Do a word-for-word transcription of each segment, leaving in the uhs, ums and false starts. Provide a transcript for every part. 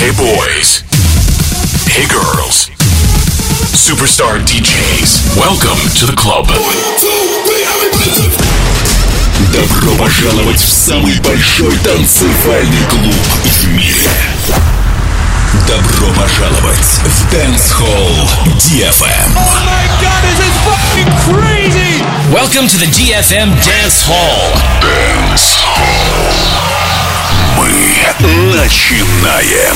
Hey boys. Hey girls. Superstar ди джейс. Welcome to the club. Добро пожаловать в самый большой танцевальный клуб в мире. Добро пожаловать в Dance Hall ди эф эм. Oh my god, this is fucking crazy! Welcome to the ди эф эм Dance Hall. Dance Hall. Мы начинаем.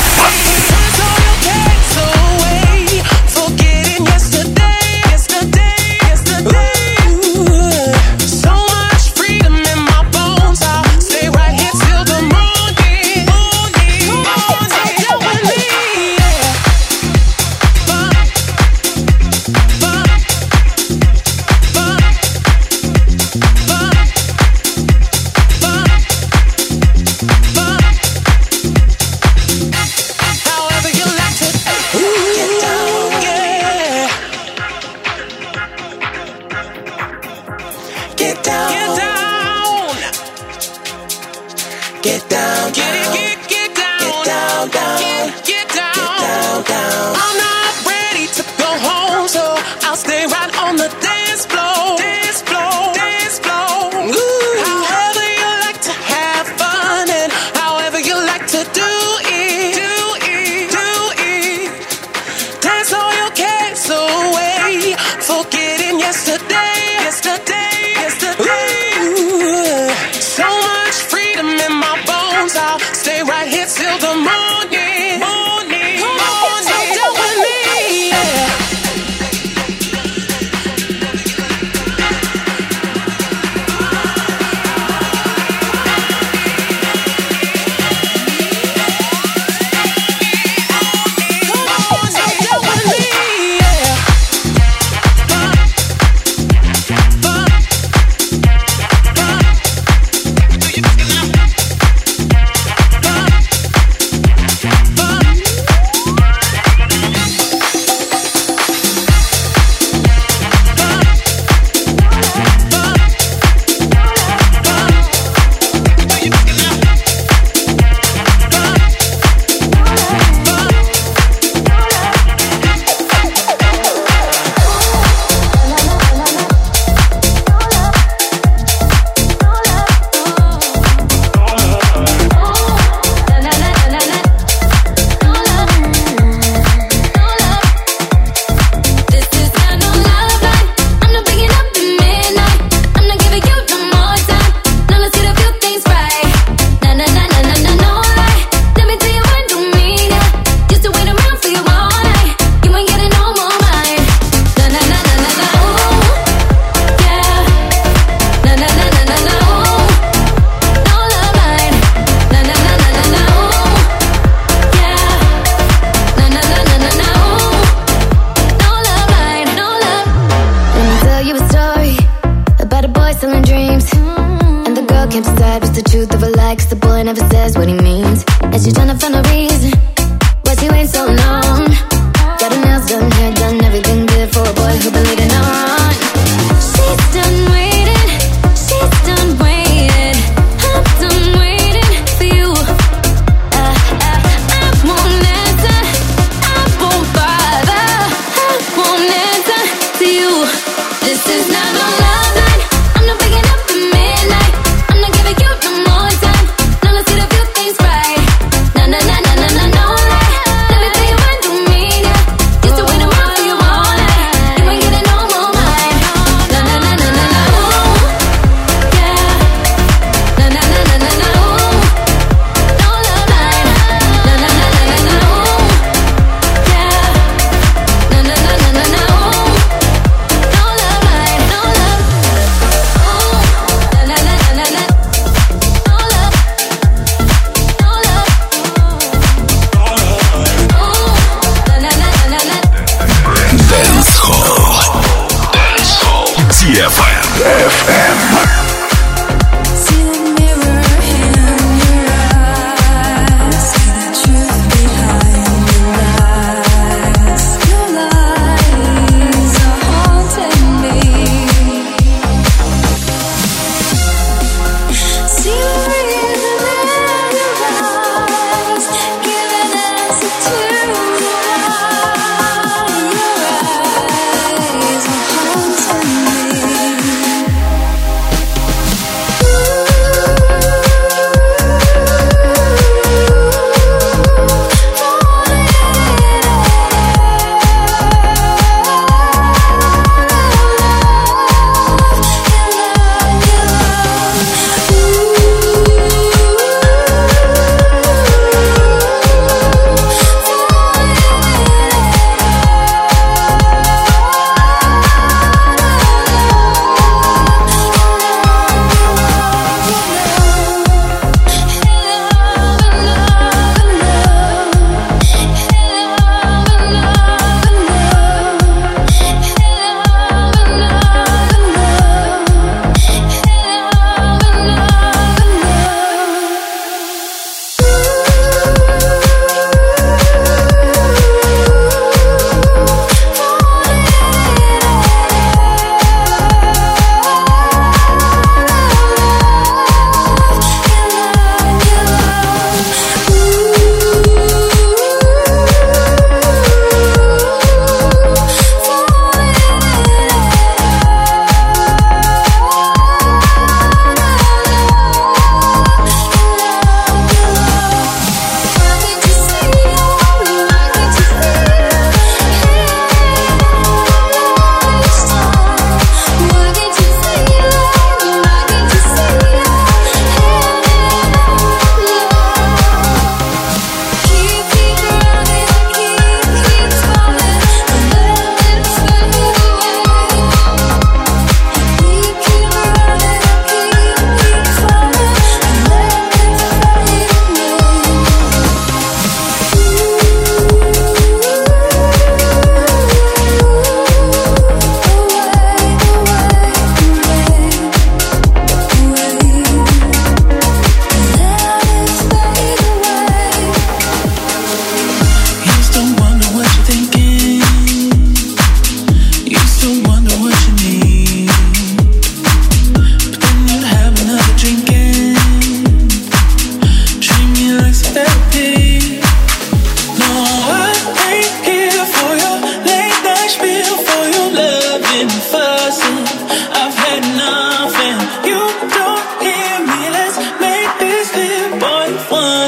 Let me tell you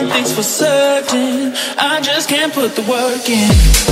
one thing's for certain, I just can't put the work in.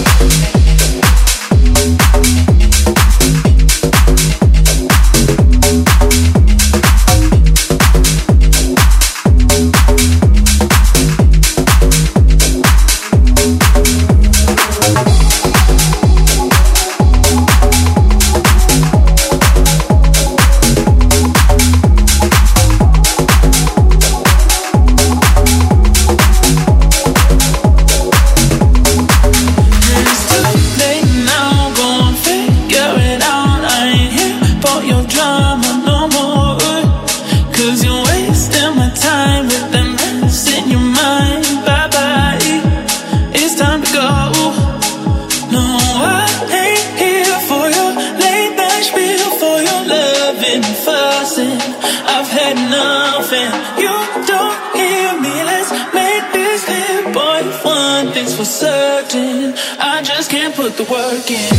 Put the work in.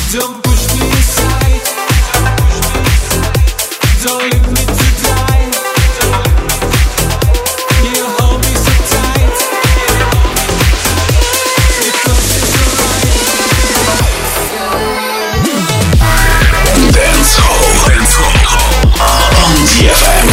Don't push me aside. Don't leave me to die. You hold me so tight. Because it's alright. Dance Hall. Dance Hall. On ди эф эм.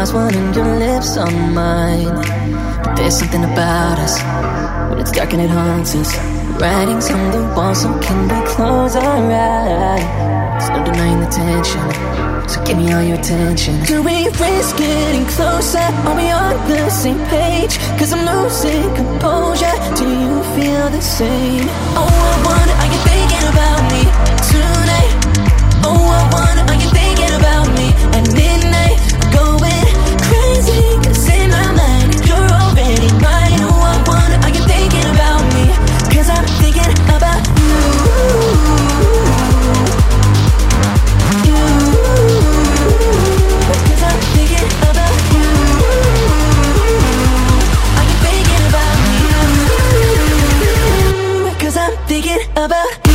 eyes, one and your lips on mine. But there's something about us, when it's dark and it haunts us. Writings on the wall, so can we close our eyes? There's no denying the tension, so give me all your attention. Do we risk getting closer? Are we on the same page? Cause I'm losing composure. Do you feel the same? Oh, I wonder, are you thinking about me tonight? Oh, I wonder, are you thinking about me at midnight? Going crazy, cause in my mind you're already mine. Oh, I wonder, are you thinking about me? Cause I'm thinking about you. You. Cause I'm thinking about you. Are you thinking about me? Cause I'm thinking about you.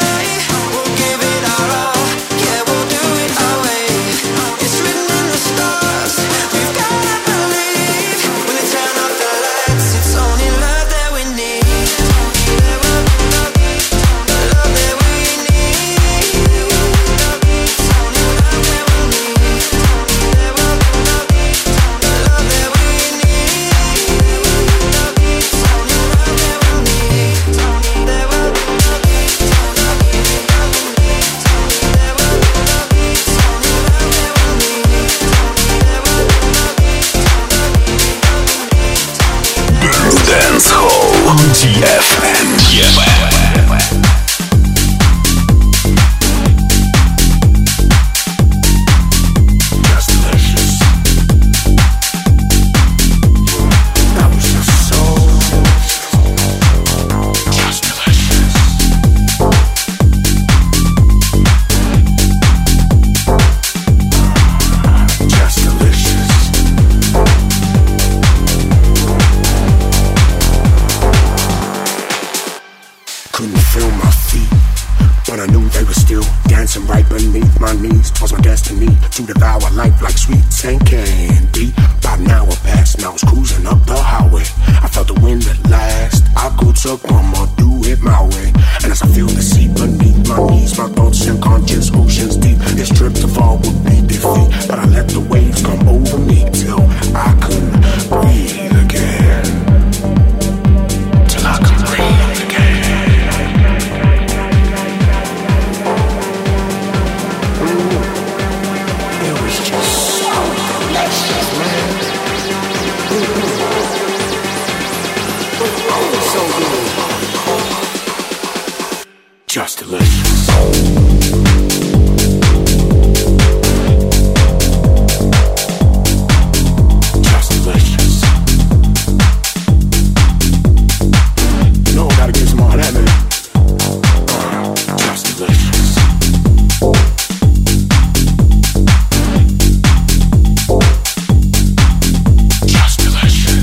Stars couldn't feel my feet, but I knew they were still dancing right beneath my knees. 'Twas my destiny to devour life like sweets and candy. About an hour passed and I was cruising up the highway. I felt the wind at last. I could succumb or do it my way. And as I feel the sea beneath my knees, my thoughts and conscious oceans deep. This trip to fall would be defeat, but I let the waves come over me till I couldn't breathe again. Till I could breathe again. Just delicious. Just delicious. You know I gotta get some more of that, man. Uh, just delicious. Just delicious.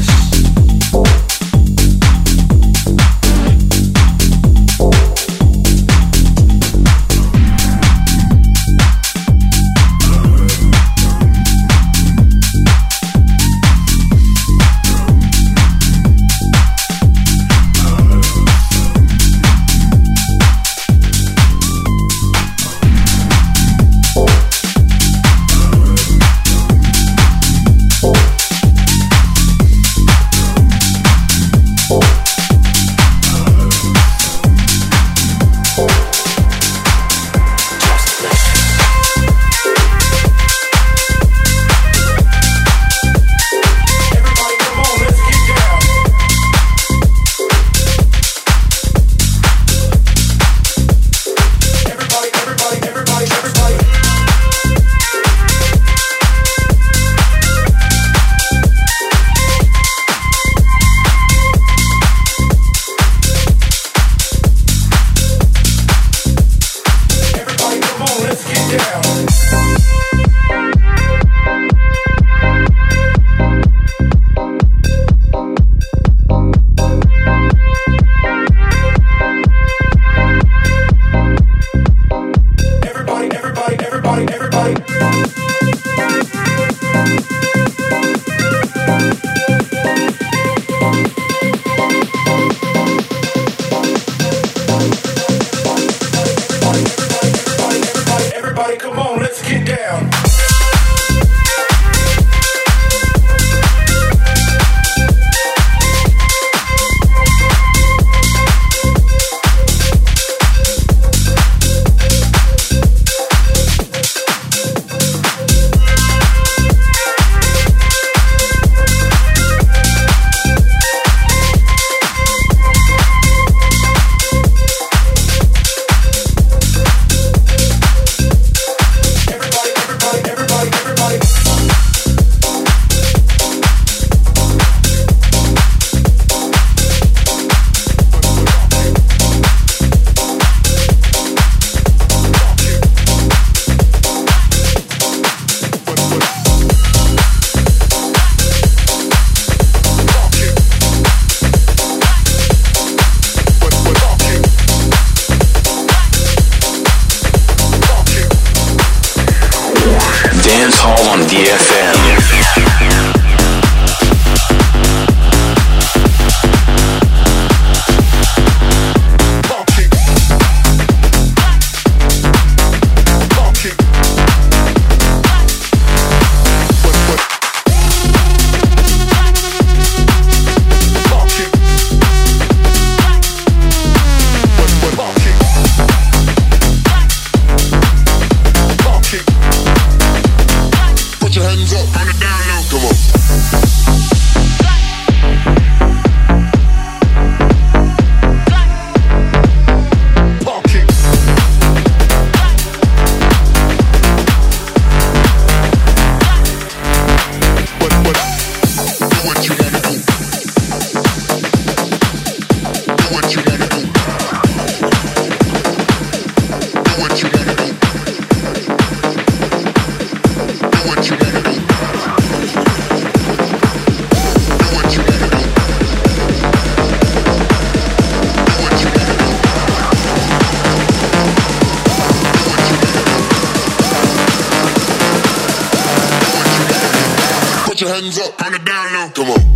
Put your hands up on the down low. your hands up on the down low. Come on.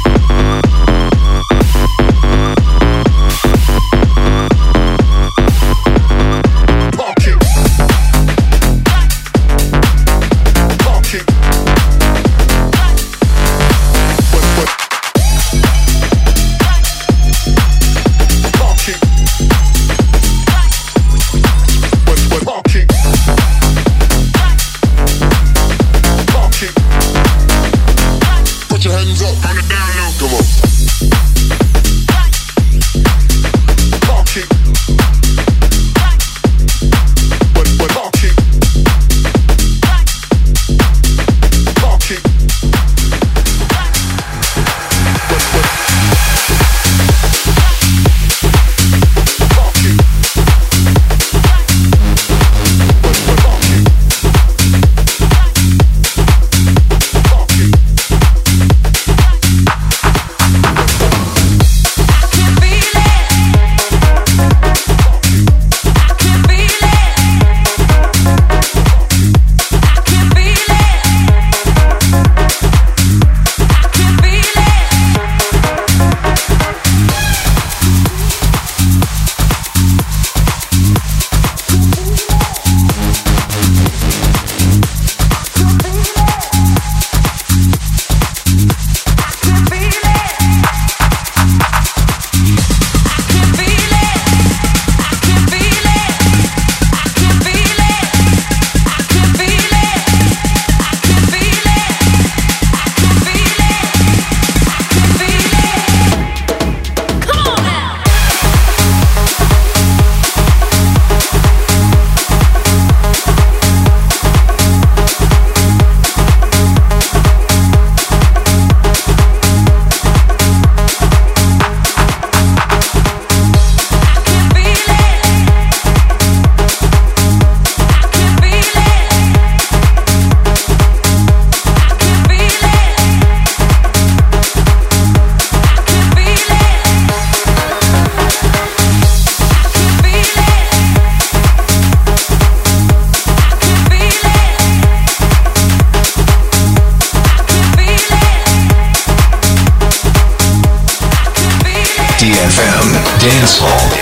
Dance Hall.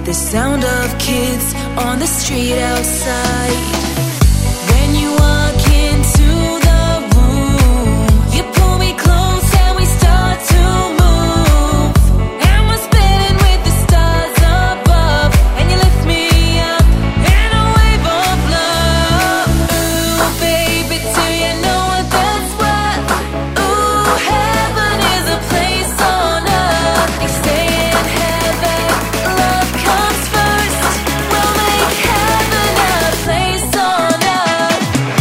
the sound of kids on the street outside. When you walk into the room, you pull me close and we start to move. And we're spinning with the stars above, and you lift me up in a wave of love. Ooh, baby, do you know what that's worth? Ooh, heaven is a place on earth. They say in heaven, love comes first. We'll make heaven a place on earth.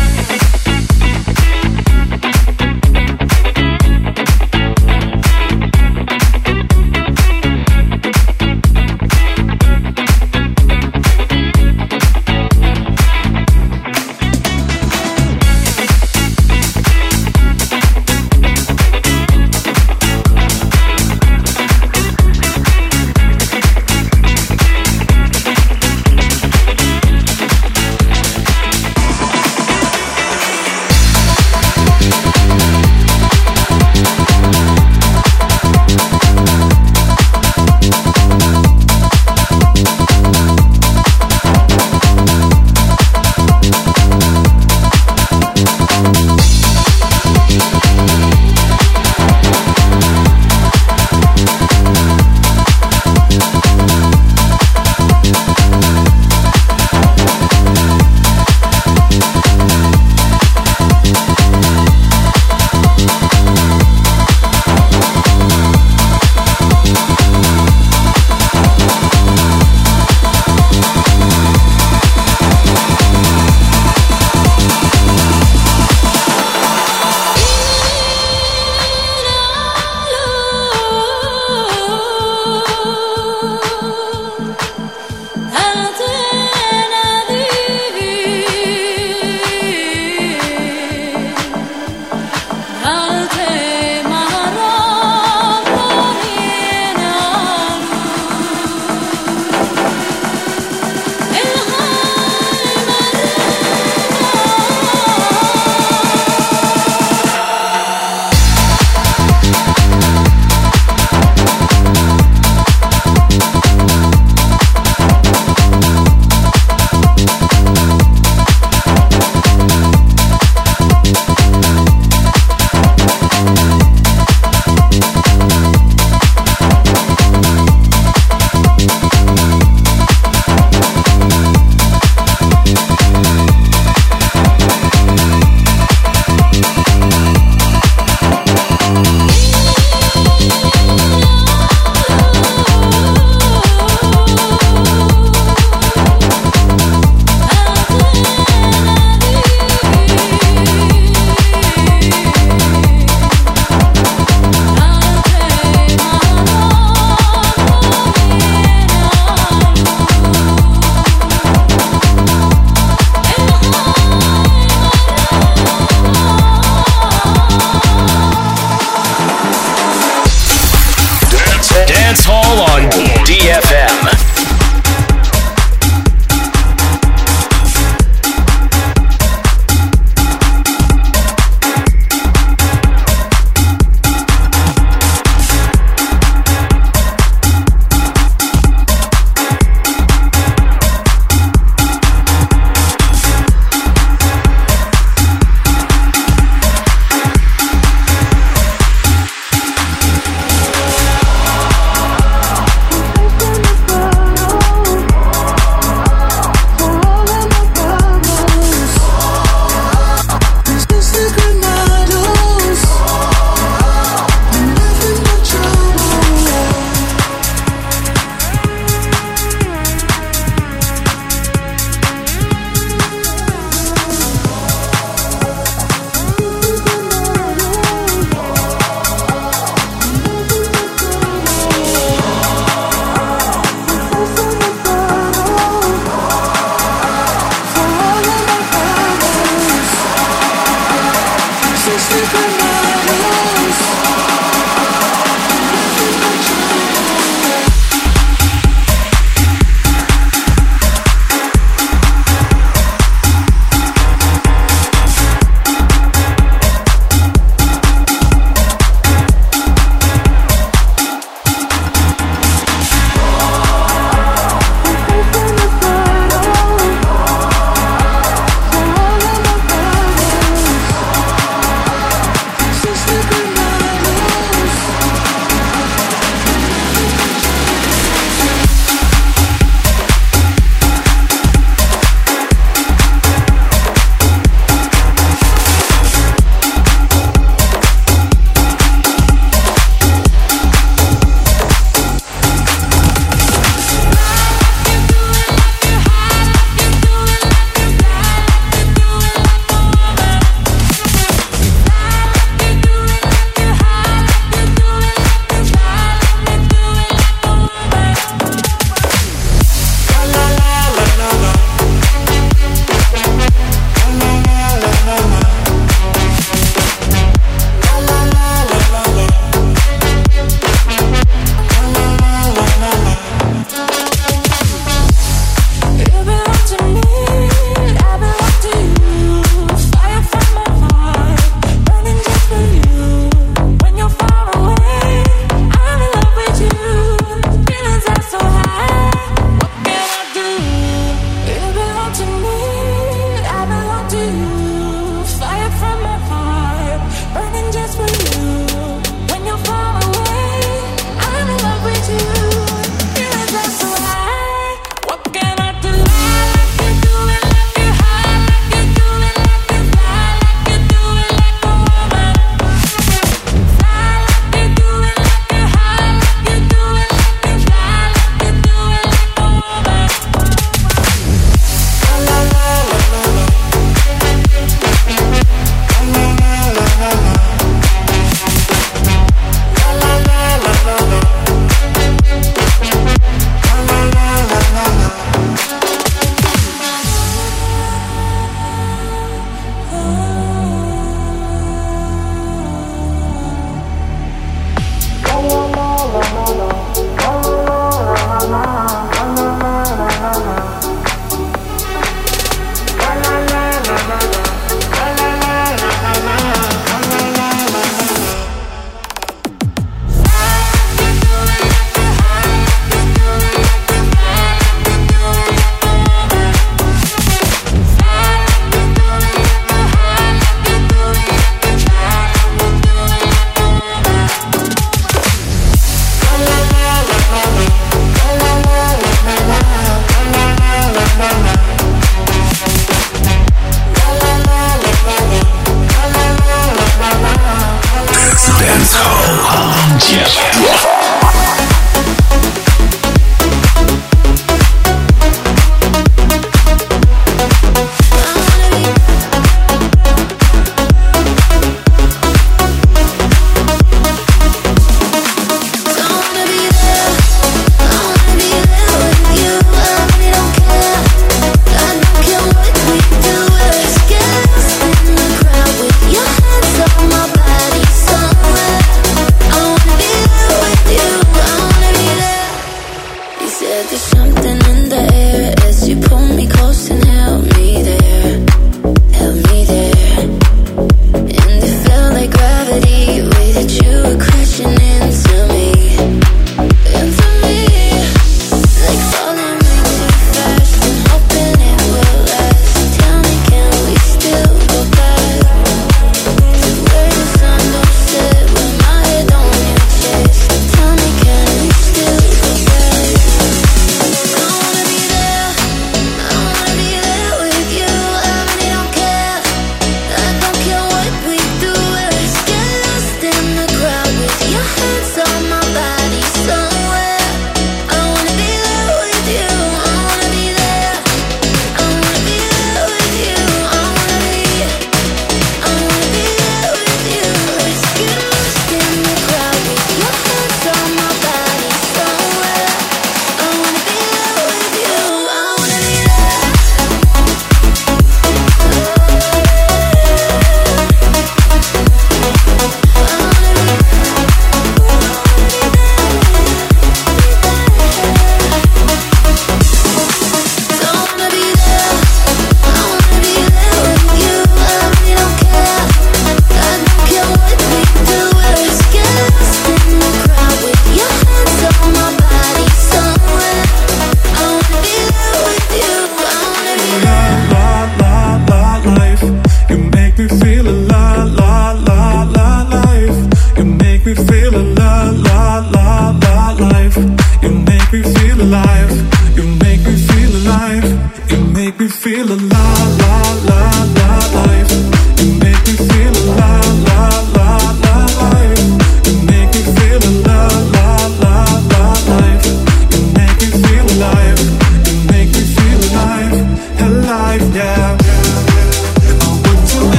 Dance Hall on D F M. Thank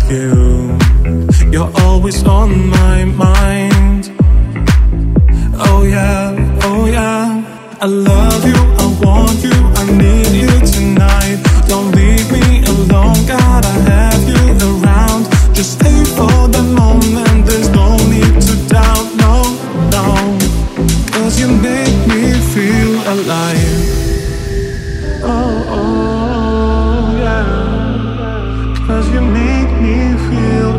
you. You're always on my mind. Oh yeah, oh yeah. I love you, I want you, I need you tonight. Don't leave me alone, gotta have you around. Just stay for the moment, there's no need to doubt, no, no. Cause you make me feel alive. Oh, oh, yeah. Cause you make me feel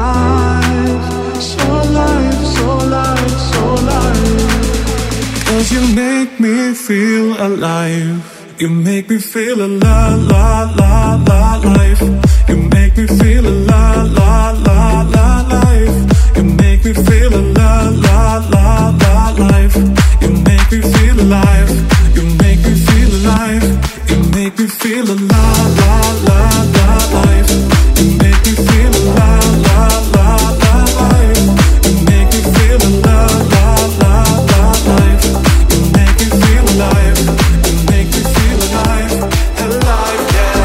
alive. So alive, so alive, so alive. Cause you make me feel alive. You make me feel alive, la, la, la, life. You make me feel alive, la, la, la, life. You make me feel alive, la, la, la, life. You make me feel alive. You make me feel alive. You make me feel alive, la, la, la, life. You make me feel alive, la, la, la, life. You make me feel alive, la, la, la, life. You make me feel alive. You make me feel alive, alive, yeah.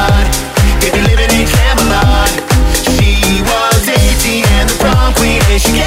She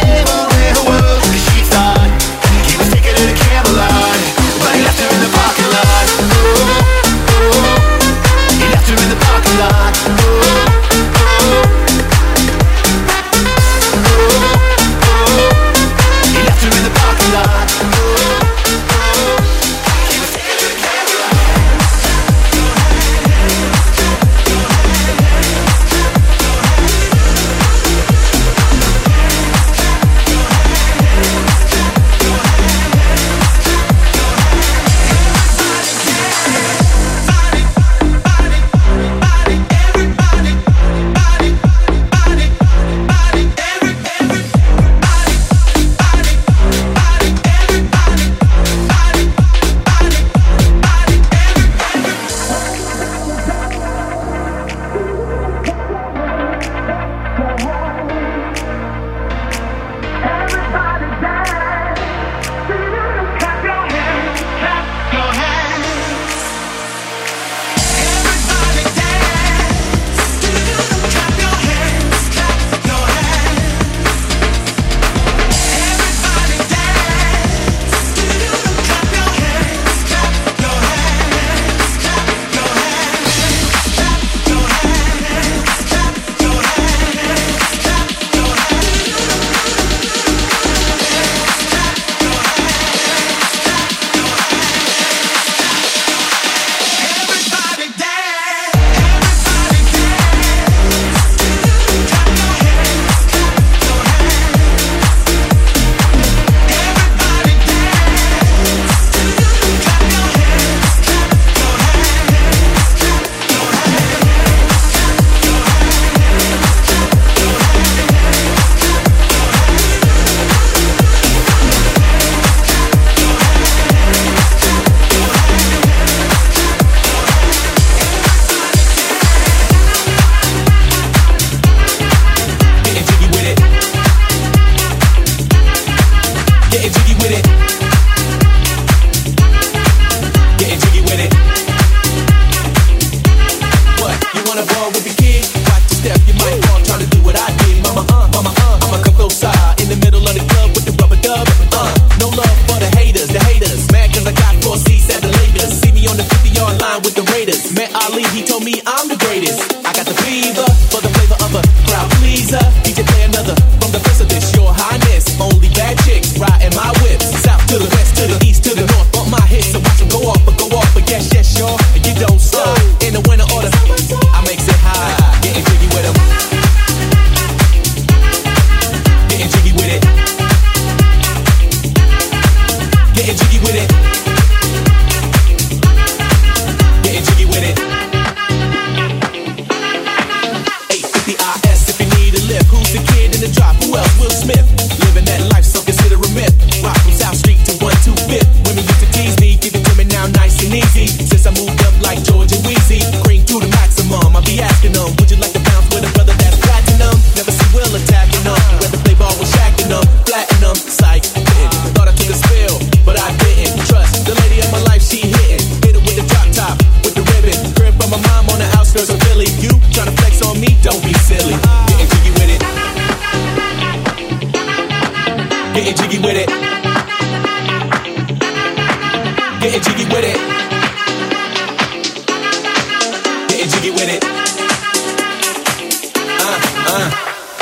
Getting jiggy with it. Getting jiggy with it. What? You wanna ball with the kid? Watch your step, you might fall trying to do what I did. Mama, uh, mama, uh, I'ma come close side in the middle of the club with the rubber dub. Uh, no love for the haters, the haters. Mad cause I got four seats at the Lakers. See me on the fifty-yard line with the Raiders. Met Ali, he told me I'm the greatest. I got the fever for the flavor of a crowd pleaser. D J play another from the precipice, your highness. Only bad chicks riding my whip. South to the west, to the east, to the north. Bump my hits, so watch them go off, but go off. But yes, yes, y'all, and you don't stop. In the winter order, I makes it high. Getting jiggy with them. Getting jiggy with it. Getting jiggy with it. Getting jiggy with it. eight fifty I S if you need a lift. Who's the kid in the drop? Who else? Will Smith. Living that life, so consider a myth. Rock from South Street to one two fifth. Women used to tease me, give it to me now nice and easy. Since I moved up like George and Weezy, cream to the maximum. I be asking them, would you like to bounce with a brother that's platinum? Never see Will attacking them. Whether play ball was shacking them, flattening them. Psych, didn't. Thought I took a spill, but I didn't. Trust the lady of my life, she hitting. Hit it with the drop top, with the ribbon. Crib from my mom on the outskirts of Philly. You tryna flex on me? Don't be silly. Getting jiggy with it. Getting jiggy with it. Getting jiggy with it. Getting jiggy with it. Uh, uh.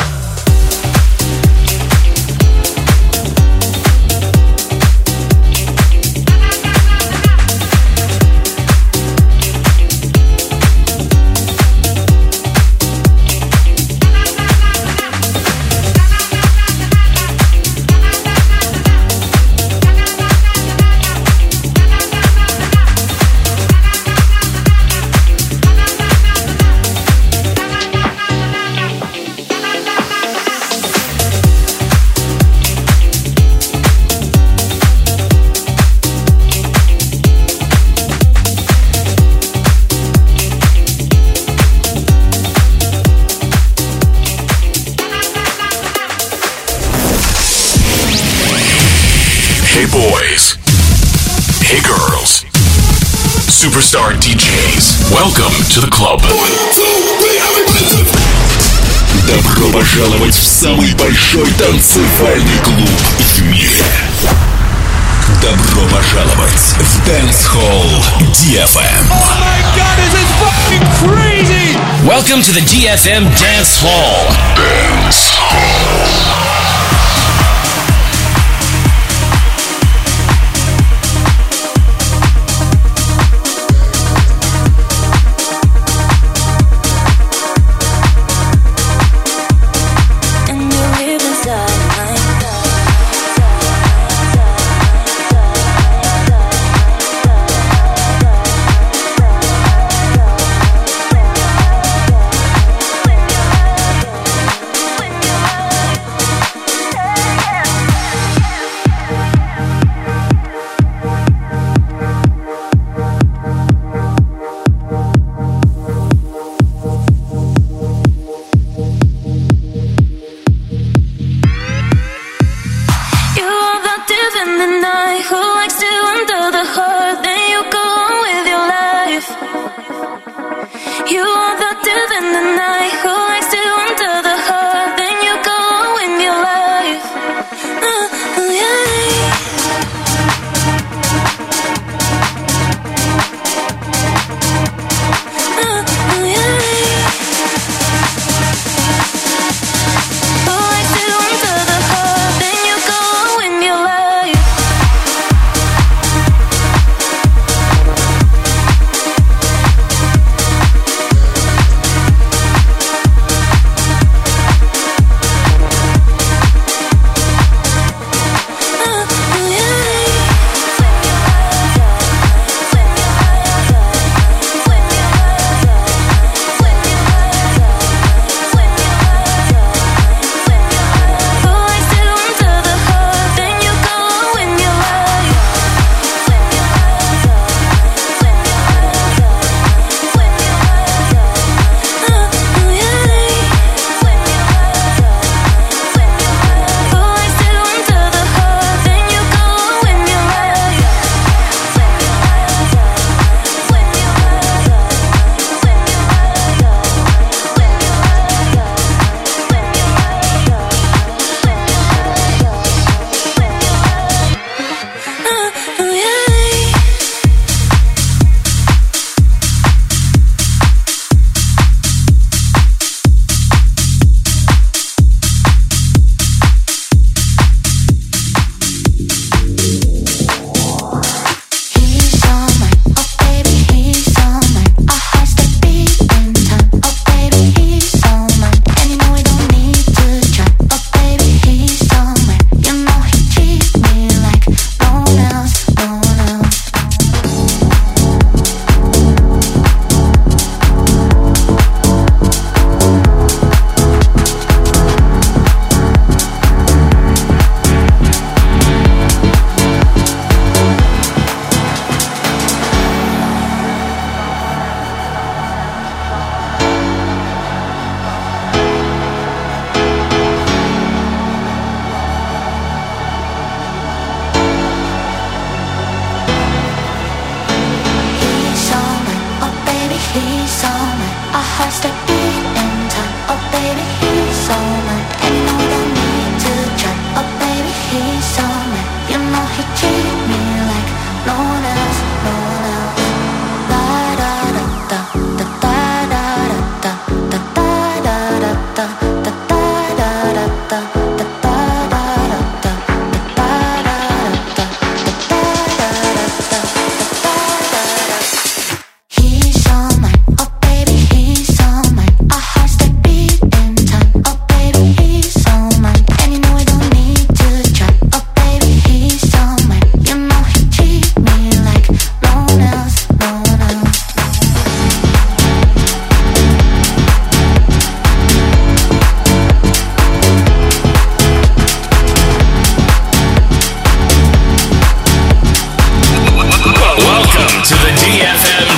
Superstar ди джейс. Welcome to the club. Добро пожаловать в самый большой танцевальный клуб в мире. Добро пожаловать в Dance Hall ди эф эм. Oh my god, this is fucking crazy! Welcome to the ди эф эм Dance Hall. Dance Hall.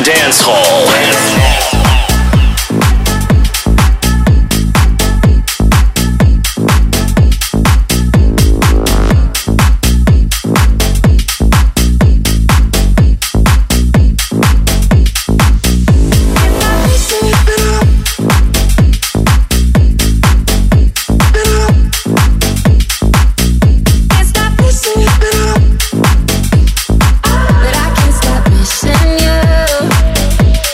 Dance Hall. But I can't stop missing you.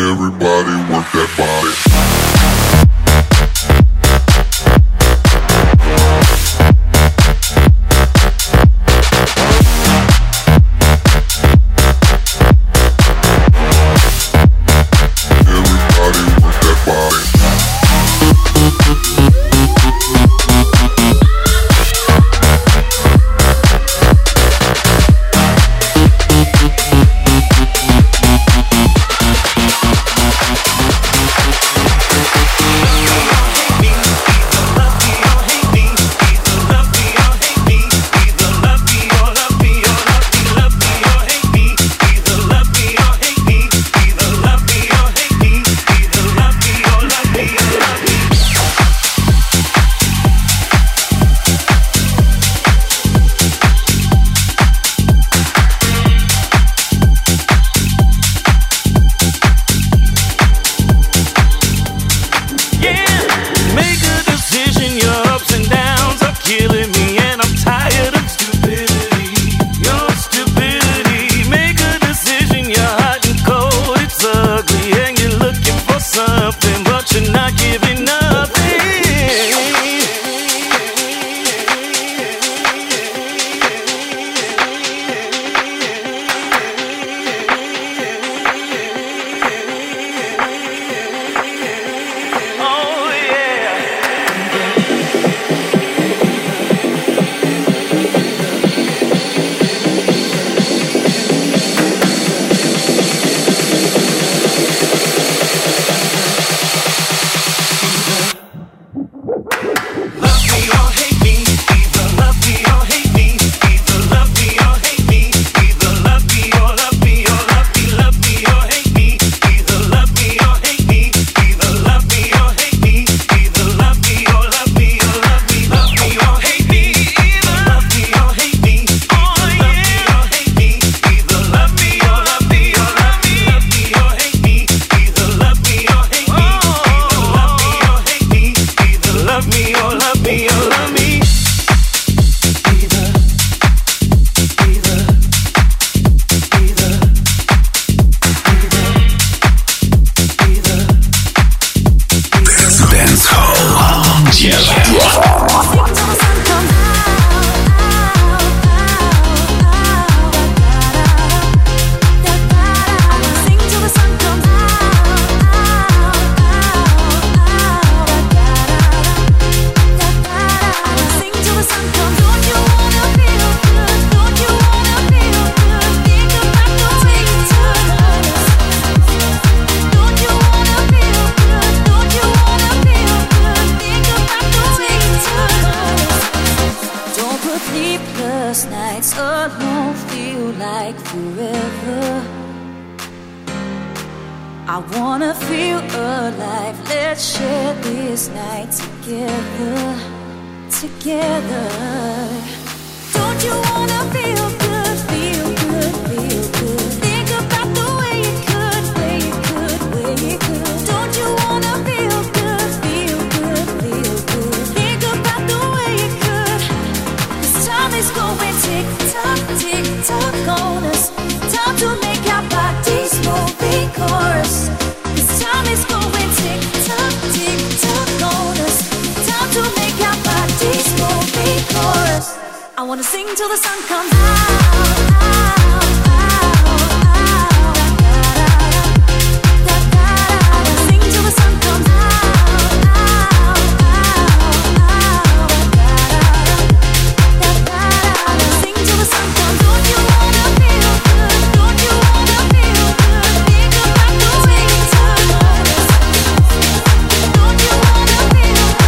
Everybody work that body.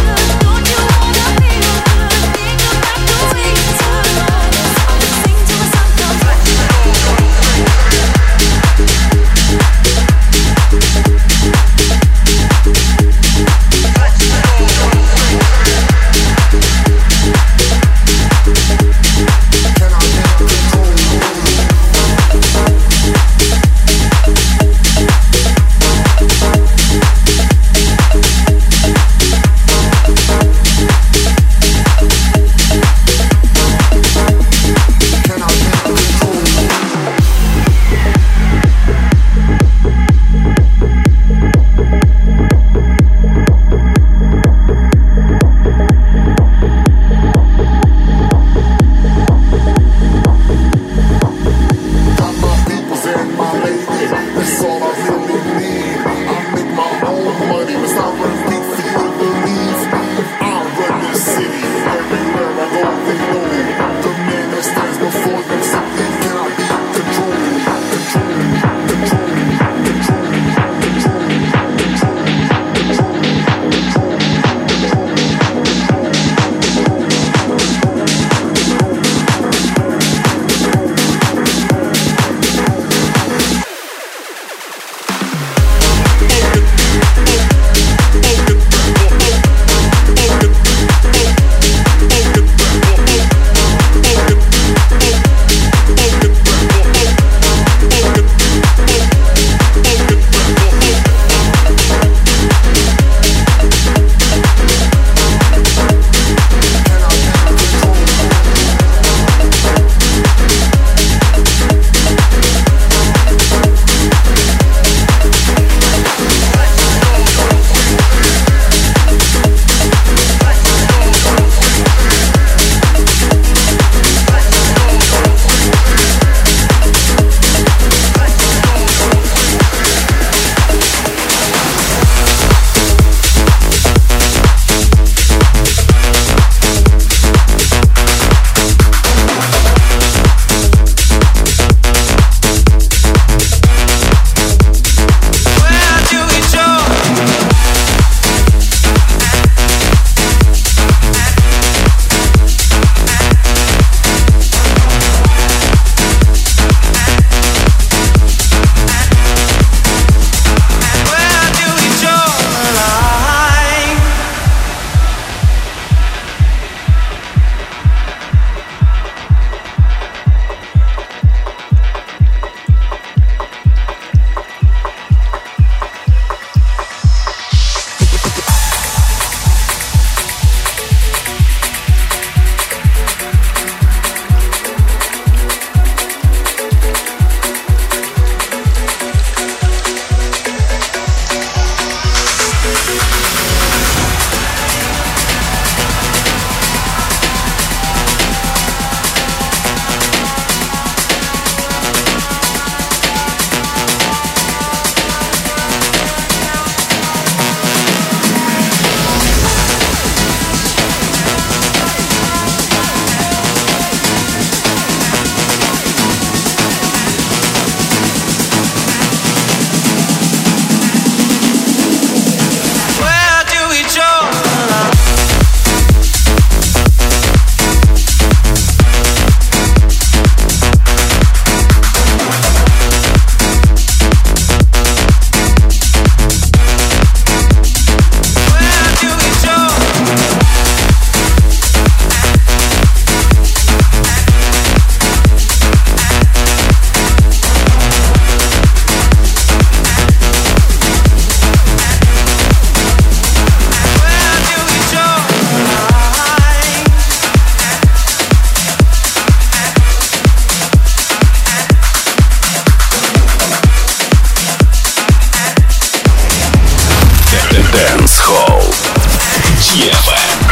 Sing to Dance Hall ди эф эм.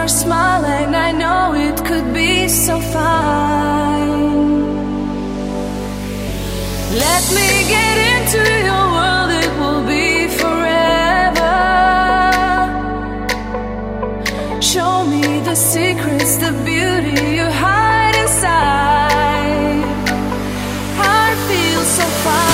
smile, and I know it could be so fine. Let me get into your world, it will be forever. Show me the secrets, the beauty you hide inside. I feel so fine.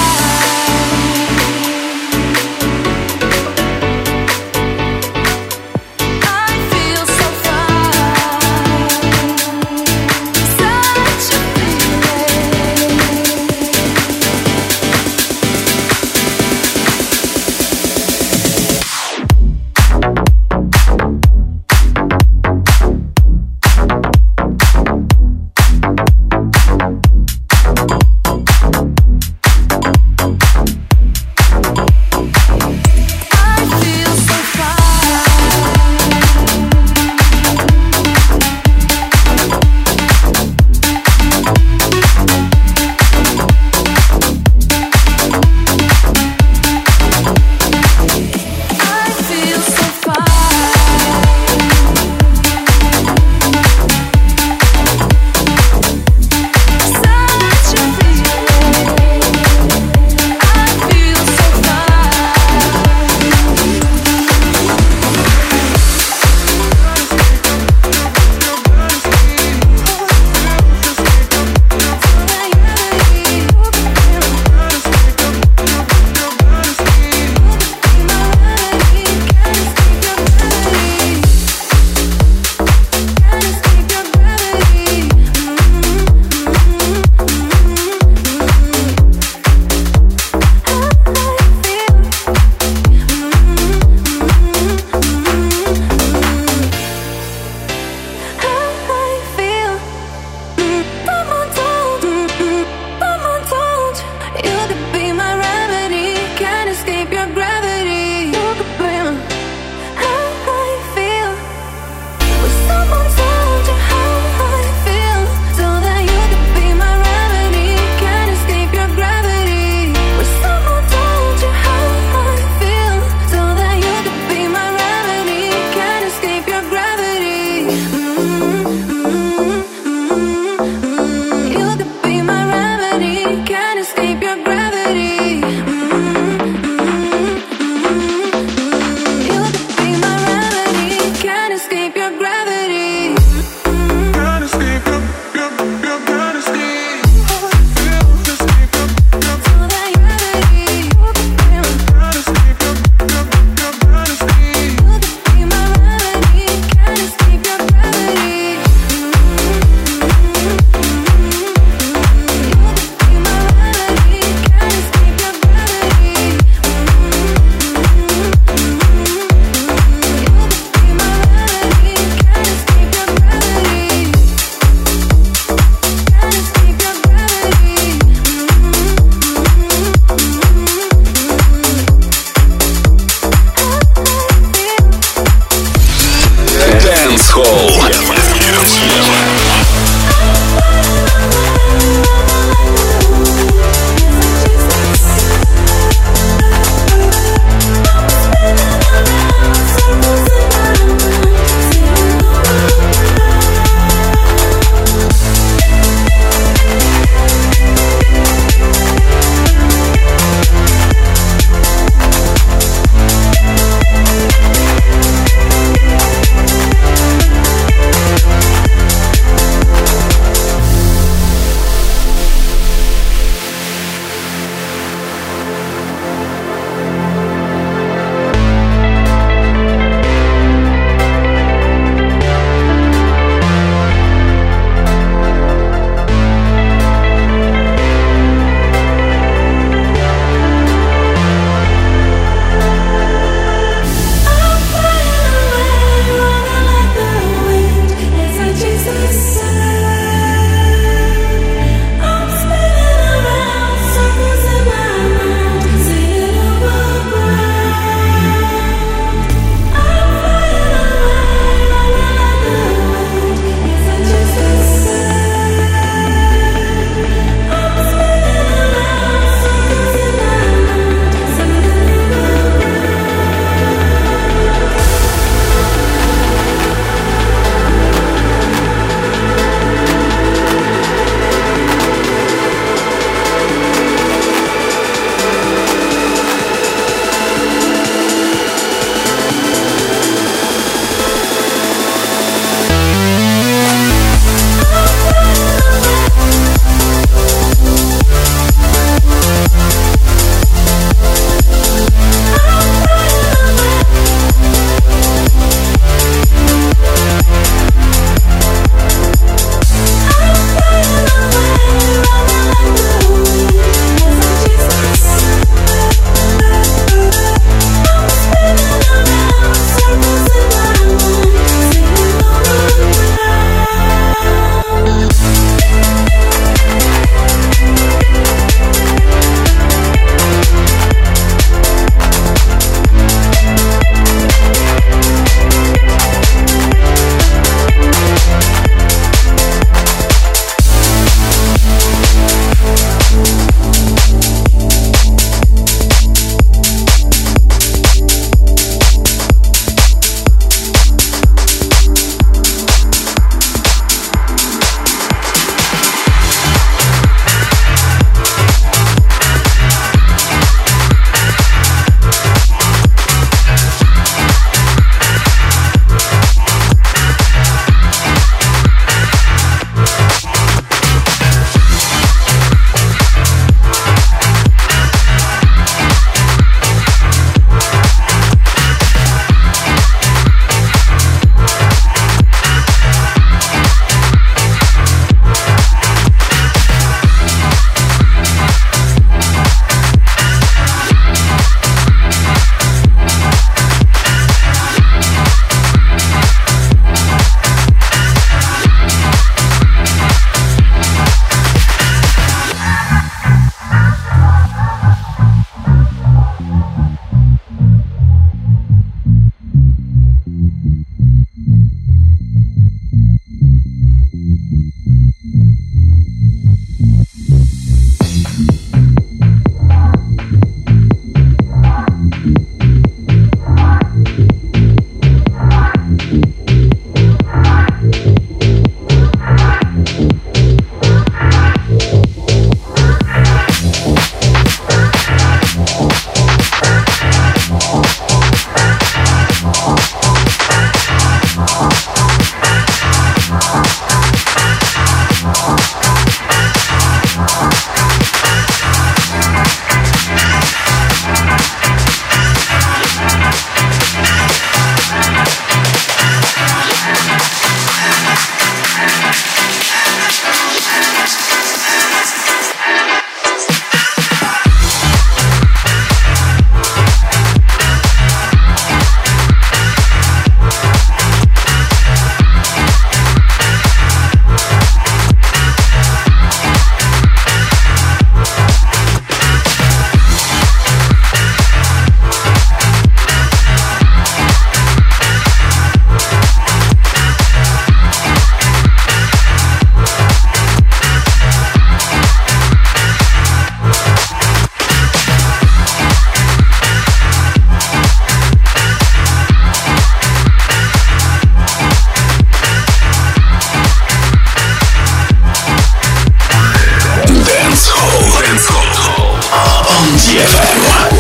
эф эм.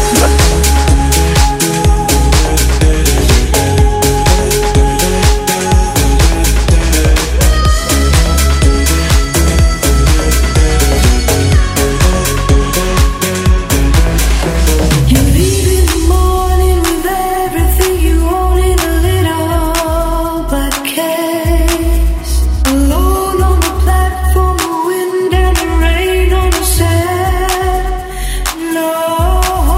Alone on the platform, the wind and the rain on the sand. No.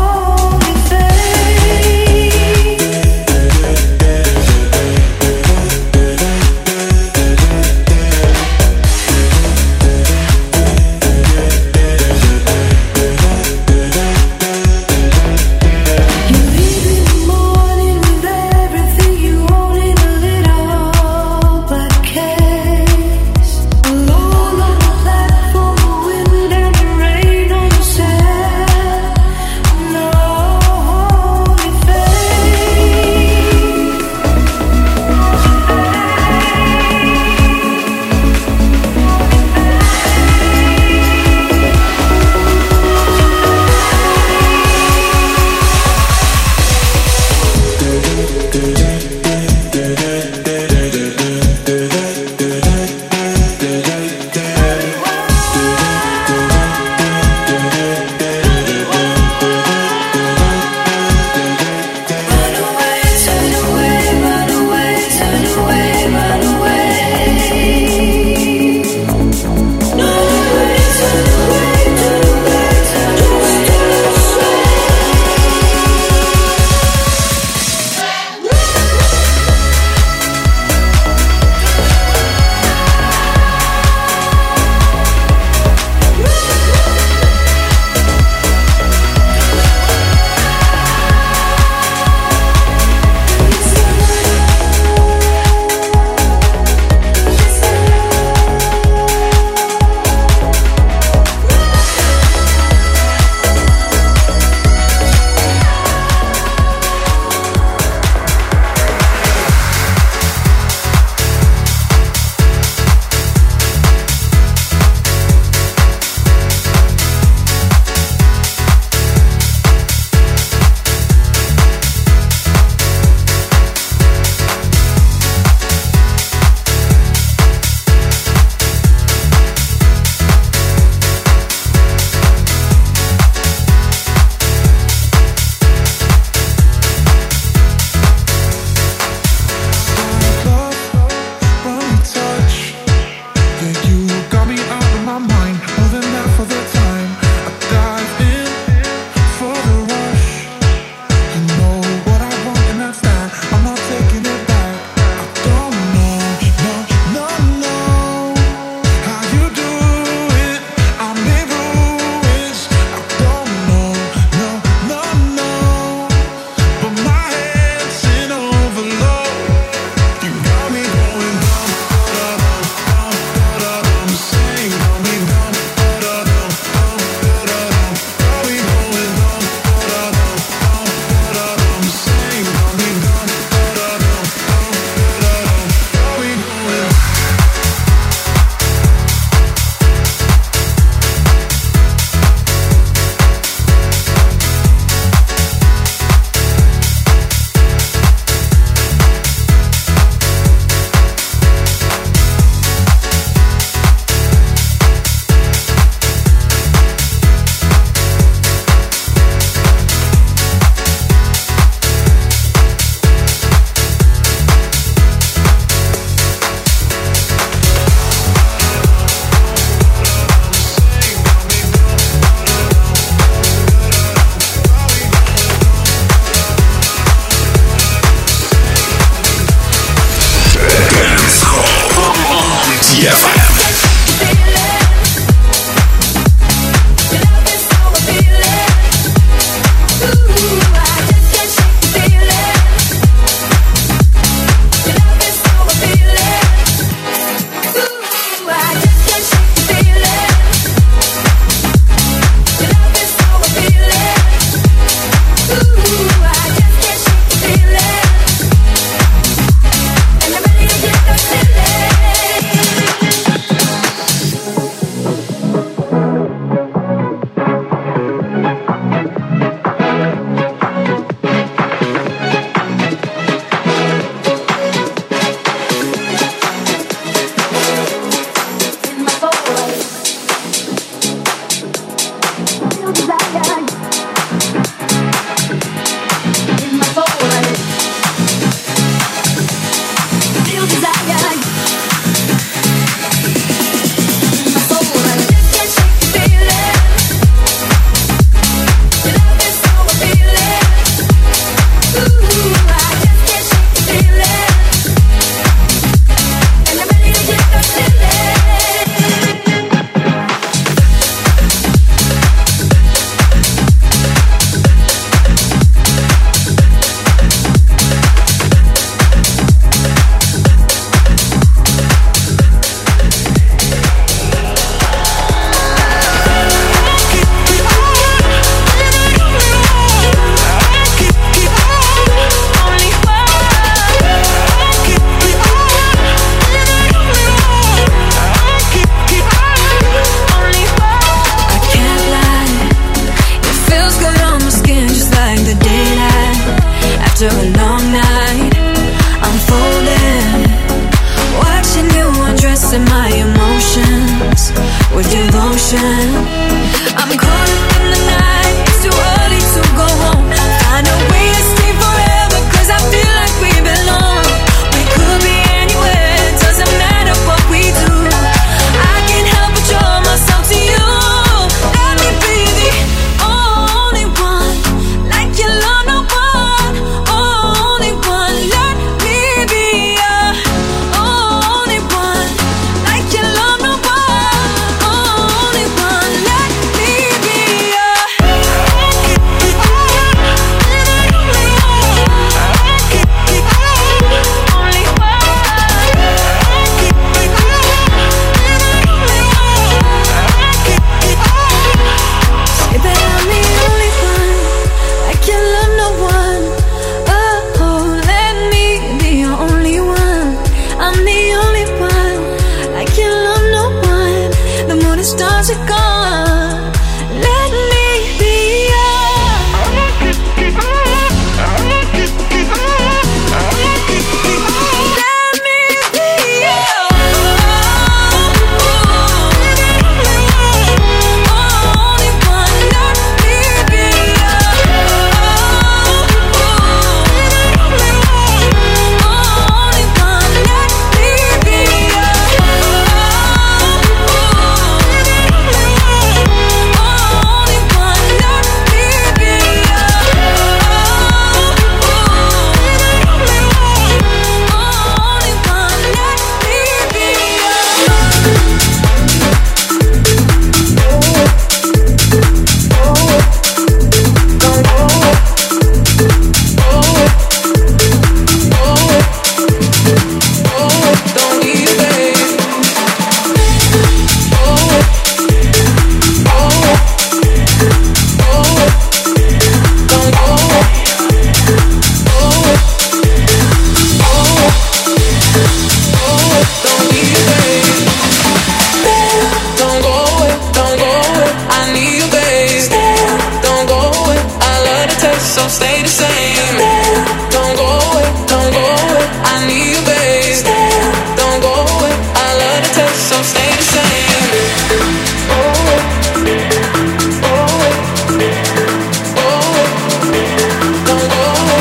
so stay the same. Stay. Don't go away, don't go away. I need you, babe. Stay. Don't go away. I love the taste, so stay the same. Oh, oh, oh, don't go away.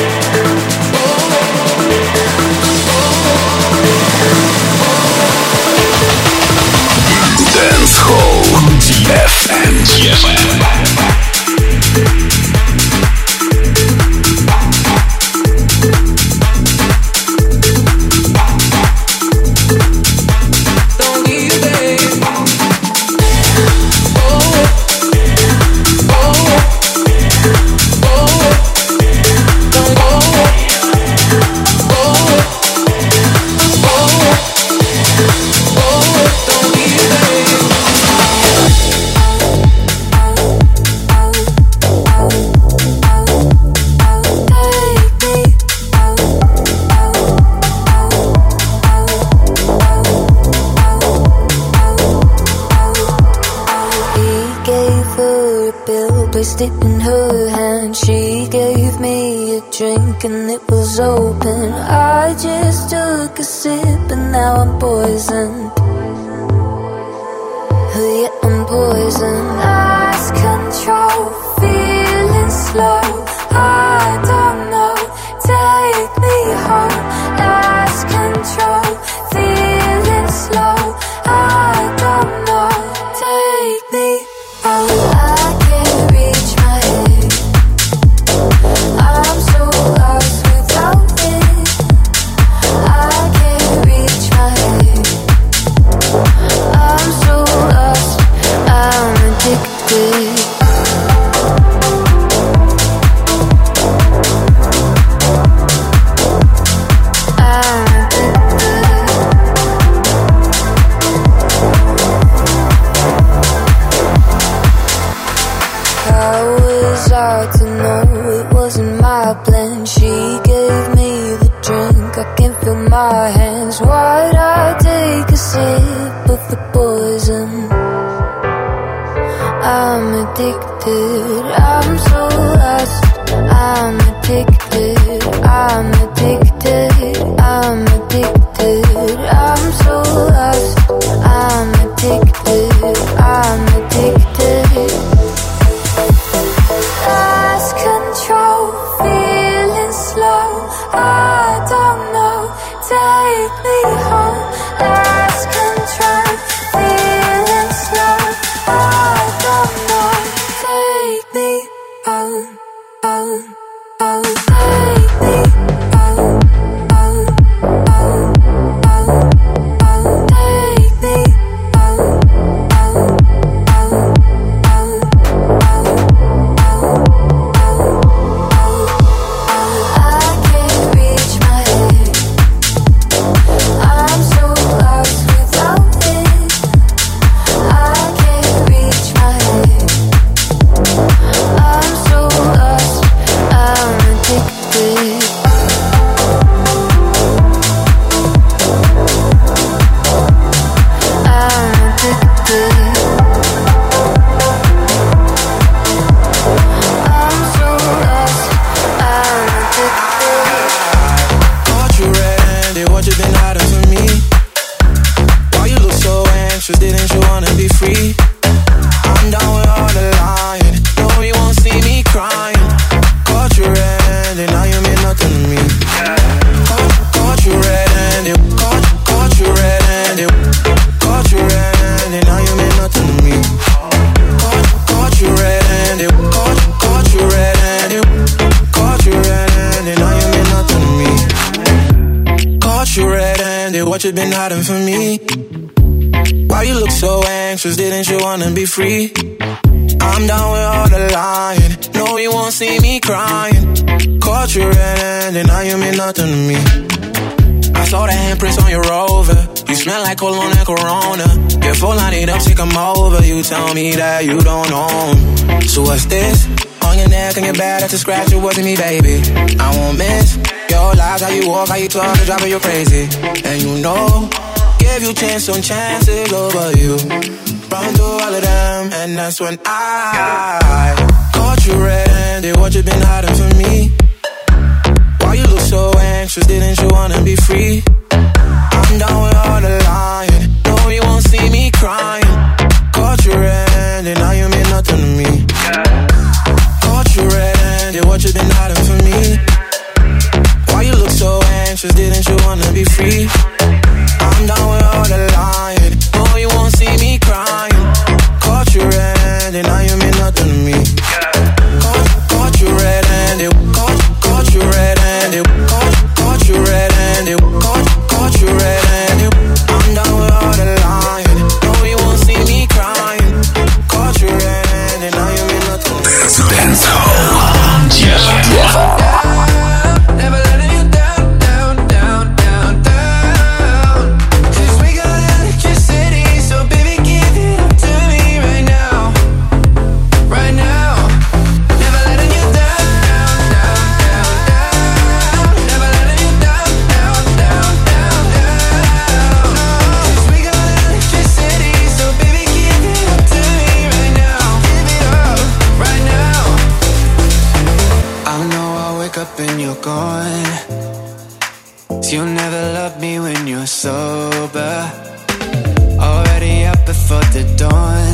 Dance Hall ди эф эм. Placed it in her hand. She gave me a drink and it was open. I just took a sip and now I'm poisoned. Yeah, I'm poisoned. Lost control, feeling slow. I don't know, take me home. Lost control, feeling slow. I don't know, take me home. I can't reach my head. I'm so lost without it. I can't reach my head. I'm so lost, I'm addicted. Hard to know, it wasn't my plan. She gave me the drink, I can't feel my hands. Why'd I take a sip of the poison? I'm addicted, I'm so lost. I'm addicted, I'm addicted, I'm addicted. I'm so lost, I'm addicted, I'm addicted. Lost control, feeling slow. I don't know, take me home. Lost control, feeling slow. I don't know, take me home, home, home. Take me home, home, home, home, home. Take me home, home, home, home, home. I can't reach my head. I'm so lost without it. I can't reach my head. I'm so lost, I'm addicted. I'm addicted. I'm so lost, I'm addicted. Caught you red-handed, what you been hiding from me? Why you look so anxious, didn't you wanna be free? I'm down with all the lying, no you won't see me crying. Caught you red-handed, now you mean nothing to me. Caught, caught you red-handed, caught, caught you red-handed. Caught you red-handed, now you mean nothing to me. Caught, caught you red-handed, caught, caught you red-handed. Caught you red-handed, now you mean nothing to me. Caught you red-handed, what you been hiding from me? Why you look so anxious, didn't you wanna be free? I'm down with all the lying, no you won't see me crying. Caught you red-handed, now you mean nothing to me. I saw the handprints on your Rover, you smell like cologne and Corona. Your phone light up, take 'em over, you tell me that you don't know 'em. So what's this? On your neck and your back, that's a scratch, it wasn't me, baby. I won't miss your lies, how you walk, how you talk, it's driving you crazy. And you know, give you chance on chances over you. Run through all of them, and that's when I caught you red-handed. red-handed, what you been hiding from me? Why you look so anxious, didn't you wanna be free? I'm down with all the lying, no you won't see me crying. Caught you red-handed, now you mean nothing to me. Caught you red-handed, what you been hiding from me? Why you look so anxious, didn't you wanna be free? I'm down with all the lying, no you won't see me crying. Caught you red-handed, now you mean nothing to me. Caught, caught you red-handed, caught, caught you red-handed, caught, caught you red-handed, caught, caught you red-handed. I'm down with all the lying, no you won't see me crying. Caught you red-handed, now you mean nothing to me. Dance Hall. Yeah. Never letting you down, down, down, down, down. 'Cause we got electricity, so baby give it up to me right now, right now. Never letting you down, down, down, down. Never letting you down, down, down, down, down. 'Cause we got electricity, so baby give it up to me right now, give it up right now. I know I wake up and you're gone. You'll never love me when you're sober. Already up before the dawn.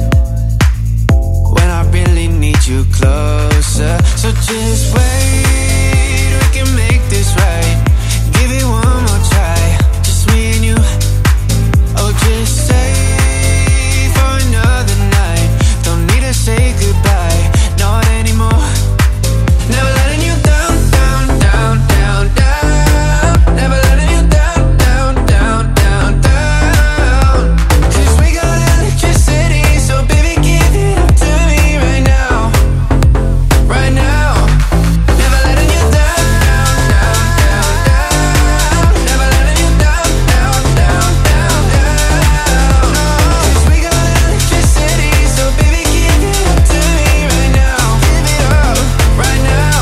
When I really need you closer. So just wait, we can make this right. Give it one more try, just me and you. Oh, just stay for another night. Don't need to say goodbye, not anymore. Never letting you down, down, down, down, down. Never letting you down, down, down, down, down. 'Cause we got electricity, so baby give it up to me right now, right now. Never letting you down, down, down, down. Never letting you down, down, down, down, down. 'Cause we got electricity, so baby give it up to me right now, give it up right now.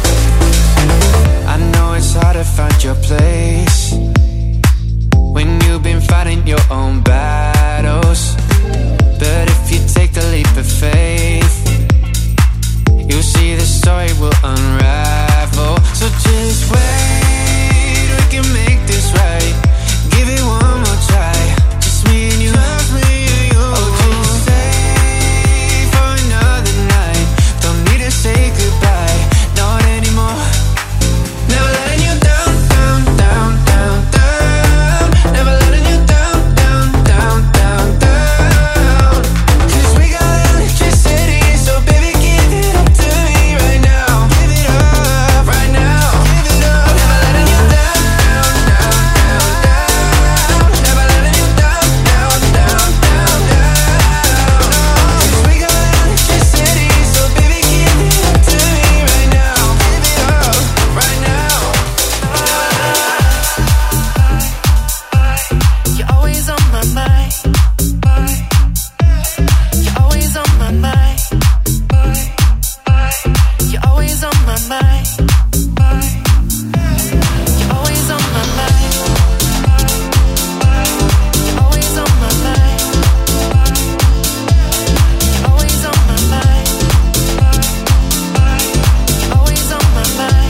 I know it's hard to find your place when you've been fighting your own battles. But if you take the leap of faith, you'll see the story will unravel. So just wait, we can make this right. Give it one more try, just me and you. Just me and you. Oh, just stay for another night. Don't need to say goodbye, not anymore. Never letting you down, down, down, down, down. Never letting you down, down, down, down, down. 'Cause we got electricity, so baby give it up to me right now. Give it up right now. Give it up. Never letting you down, down, down, down. Never letting you down, down, down, down, down. 'Cause we got electricity, so baby give it up to me right now. Give it up right now. You're always on my mind. You're always on my mind. You're always on my mind. You're always on my mind. You're always on my mind. You're always on my mind. You're always on my mind.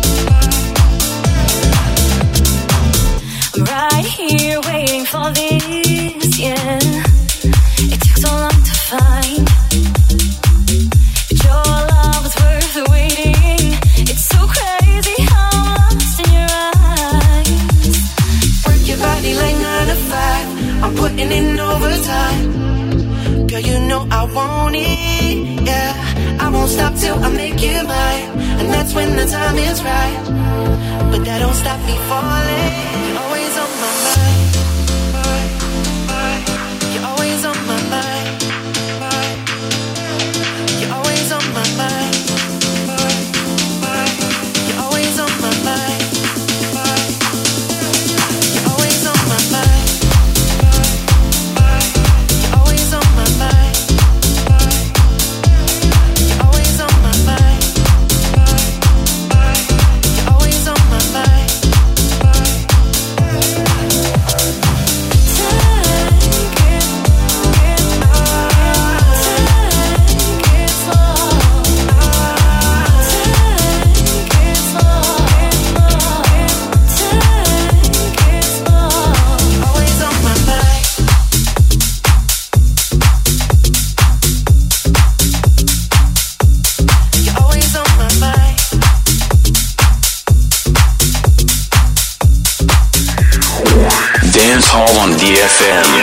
I'm right here waiting for this, yeah. It took so long to find. But your love is worth the waiting. It's so crazy how I'm lost in your eyes. Work your body like nine to five. I'm putting in overtime. Girl, you know I want it, yeah. I won't stop till I make you mine. And that's when the time is right. But that don't stop me falling. You're always on my mind. You're always on my mind. You're always on my mind. You're always on my mind. You're always on my mind. You're always on my mind. You're always on my mind. You're always on my mind. Dance Hall on ди эф эм.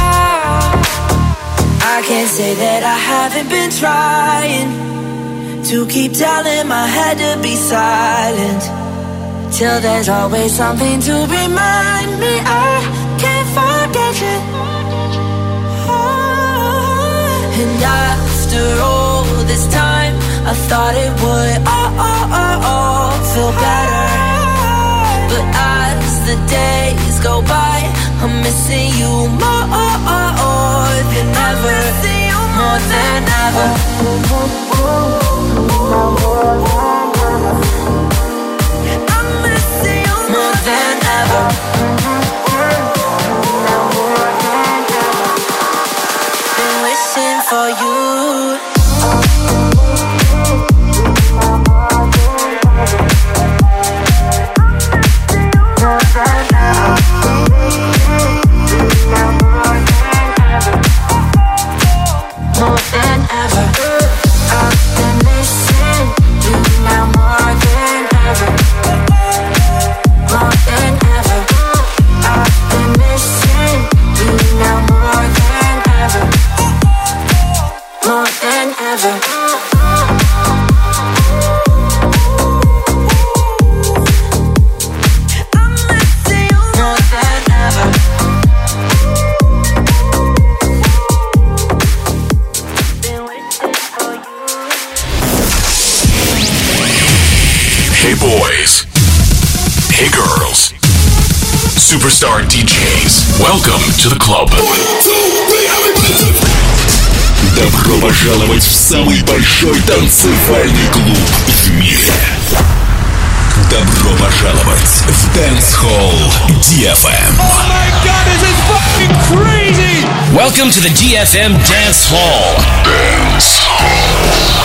say that I haven't been trying to keep telling my head to be silent, till there's always something to remind me I can't forget you. And after all this time, I thought it would all, all, all, all feel better. But as the days go by, I'm missing you more than ever. More than ever. I'm missing you more than ever. Been wishing for you. More than ever. I've been missing you now more than ever. More than ever. I've been missing you now more than ever. More than ever. I'm missing you more than ever. Hey boys. Hey girls. Superstar ди джейс. Welcome to the club. Добро пожаловать в самый большой танцевальный клуб в мире. Добро пожаловать в Dance Hall ди эф эм. Oh my god, this is fucking crazy! Welcome to the ди эф эм Dance Hall. Dance Hall.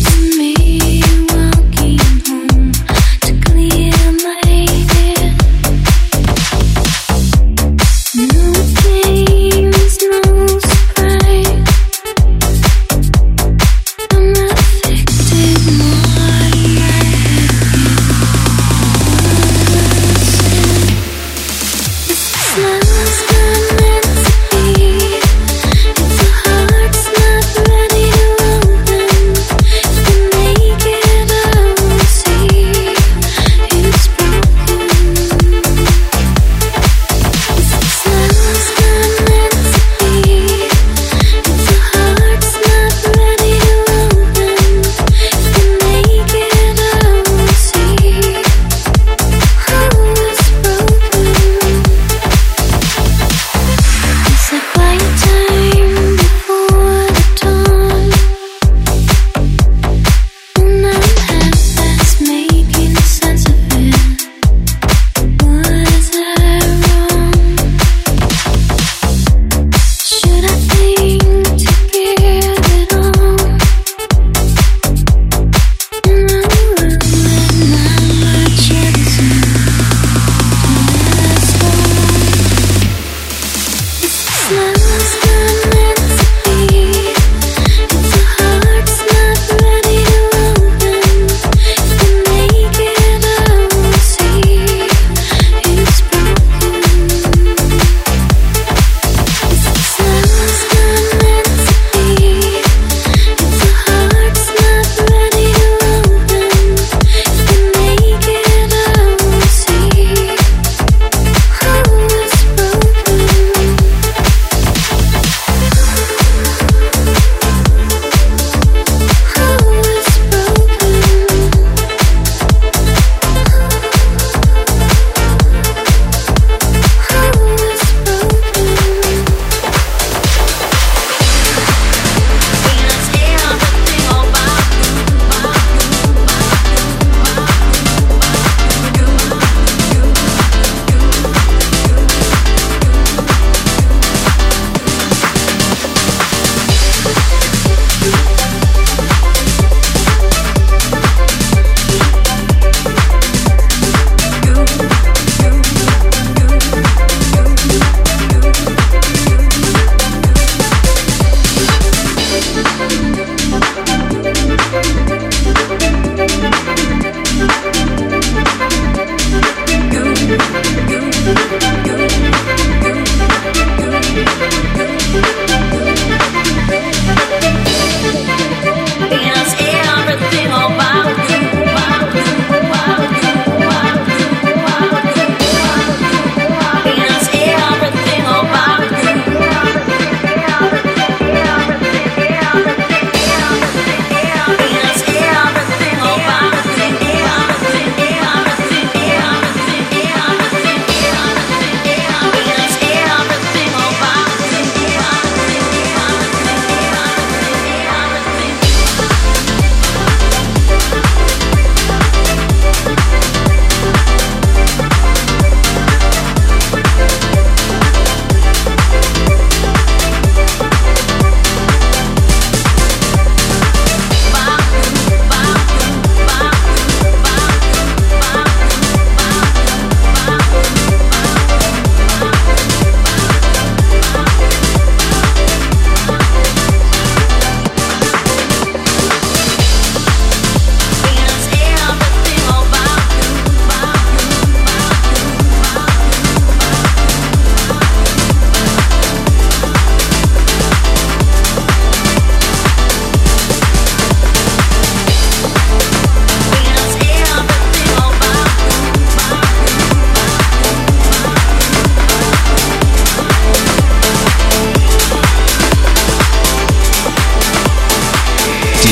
Streets, me walking home to clear my head.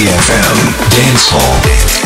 эф эм Dance Hall.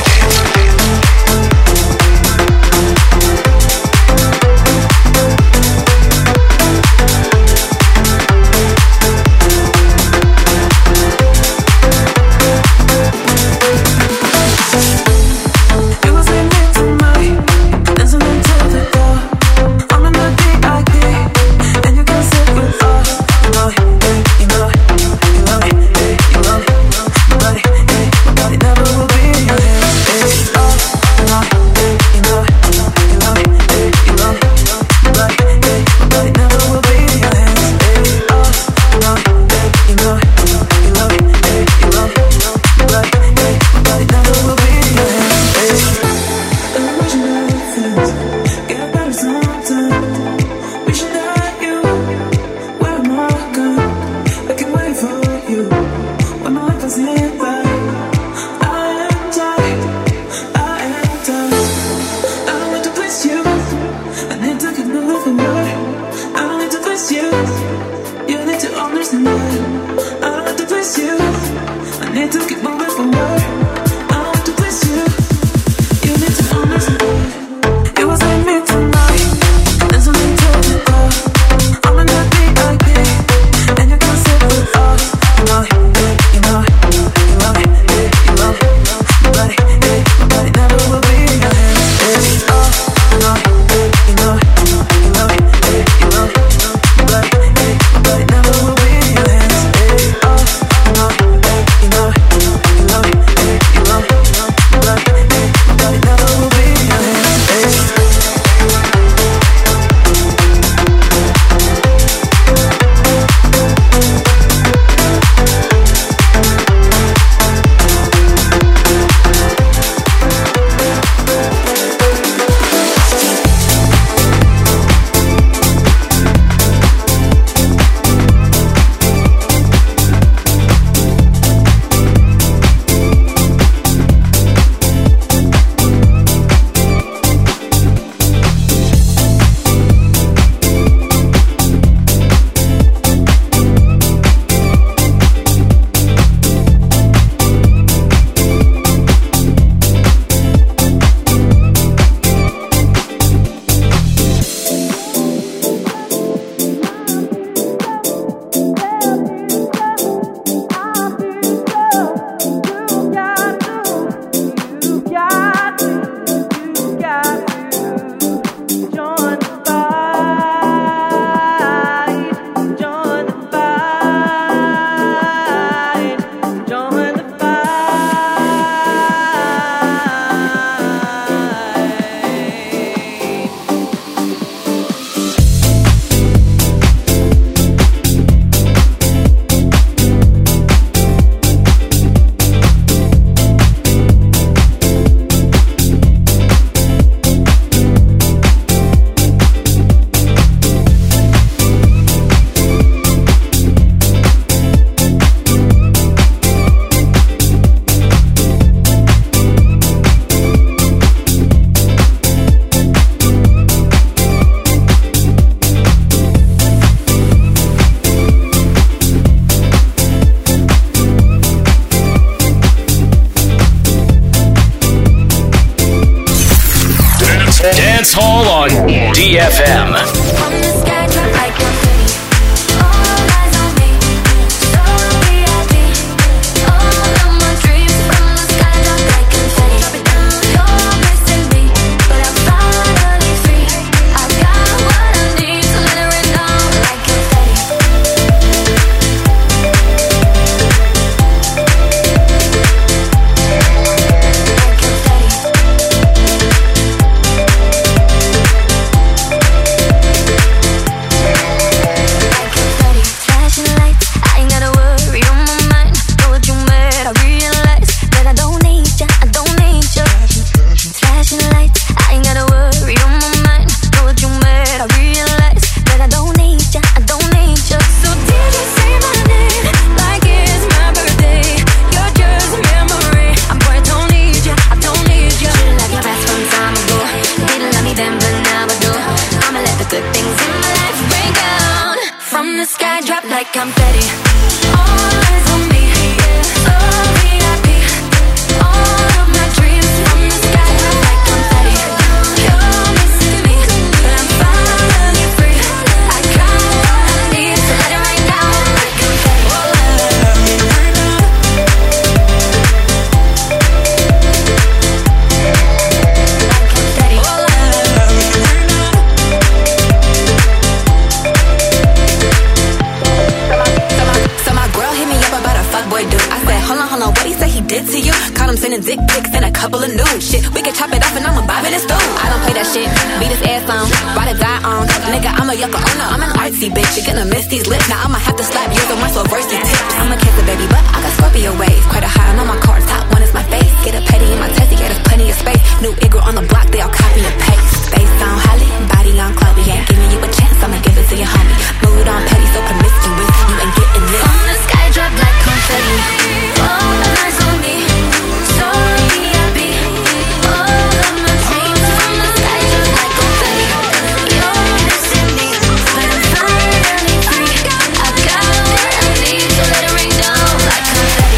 Dance Hall on D F M. Like confetti, all eyes on me, yeah. So V I P. to you. Caught him sending dick pics and a couple of nudes. Shit, we can chop it off and I'ma bob in the stool. I don't play that shit, beat his ass on, ride or die on. Nigga, I'm a yucca owner, I'm an artsy bitch. You're gonna miss these lips, now I'ma have to slap yours on my so verse these tips. I'm a cancer baby, but I got Scorpio waves. Quite a high on my cards, top one is my face. Get a petty in my testy, yeah, there's plenty of space. New Igor on the block, they all copy and paste. Face on Holly, body on Chloe. Ain't giving you a chance, I'ma give it to your homie. Mood on petty, so promiscuous, you ain't getting this. From the sky, drop like confetti. All the eyes on me, so V I P. All of my dreams from the sky, drop like confetti. You're missing me, but I'm finally free. I got what I need, so let it rain down like confetti.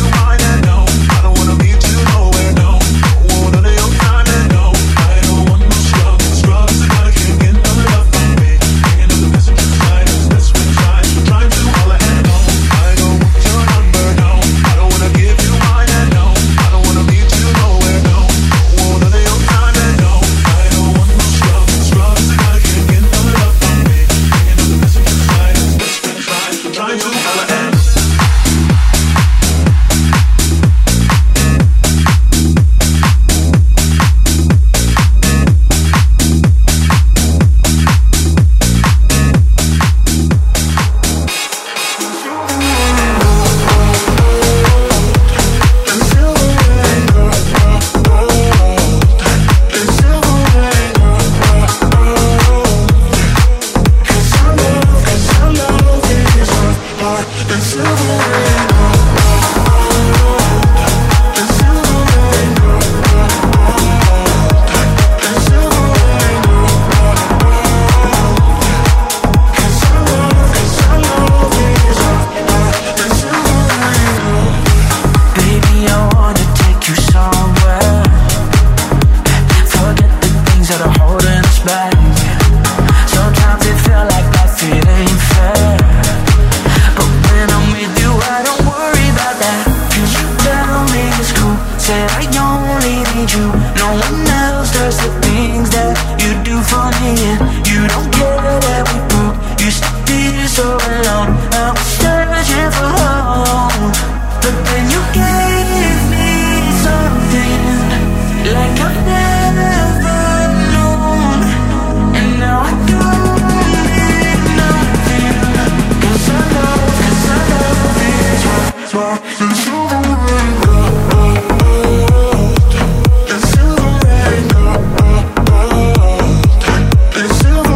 I don't wanna me in. You don't care that we broke. Used to be so alone. I was searching for home, but then you gave me something like I've never known. And now I don't need nothing, 'cause I know, 'cause I love is right. It's over and gone. It's over and gone. It's over.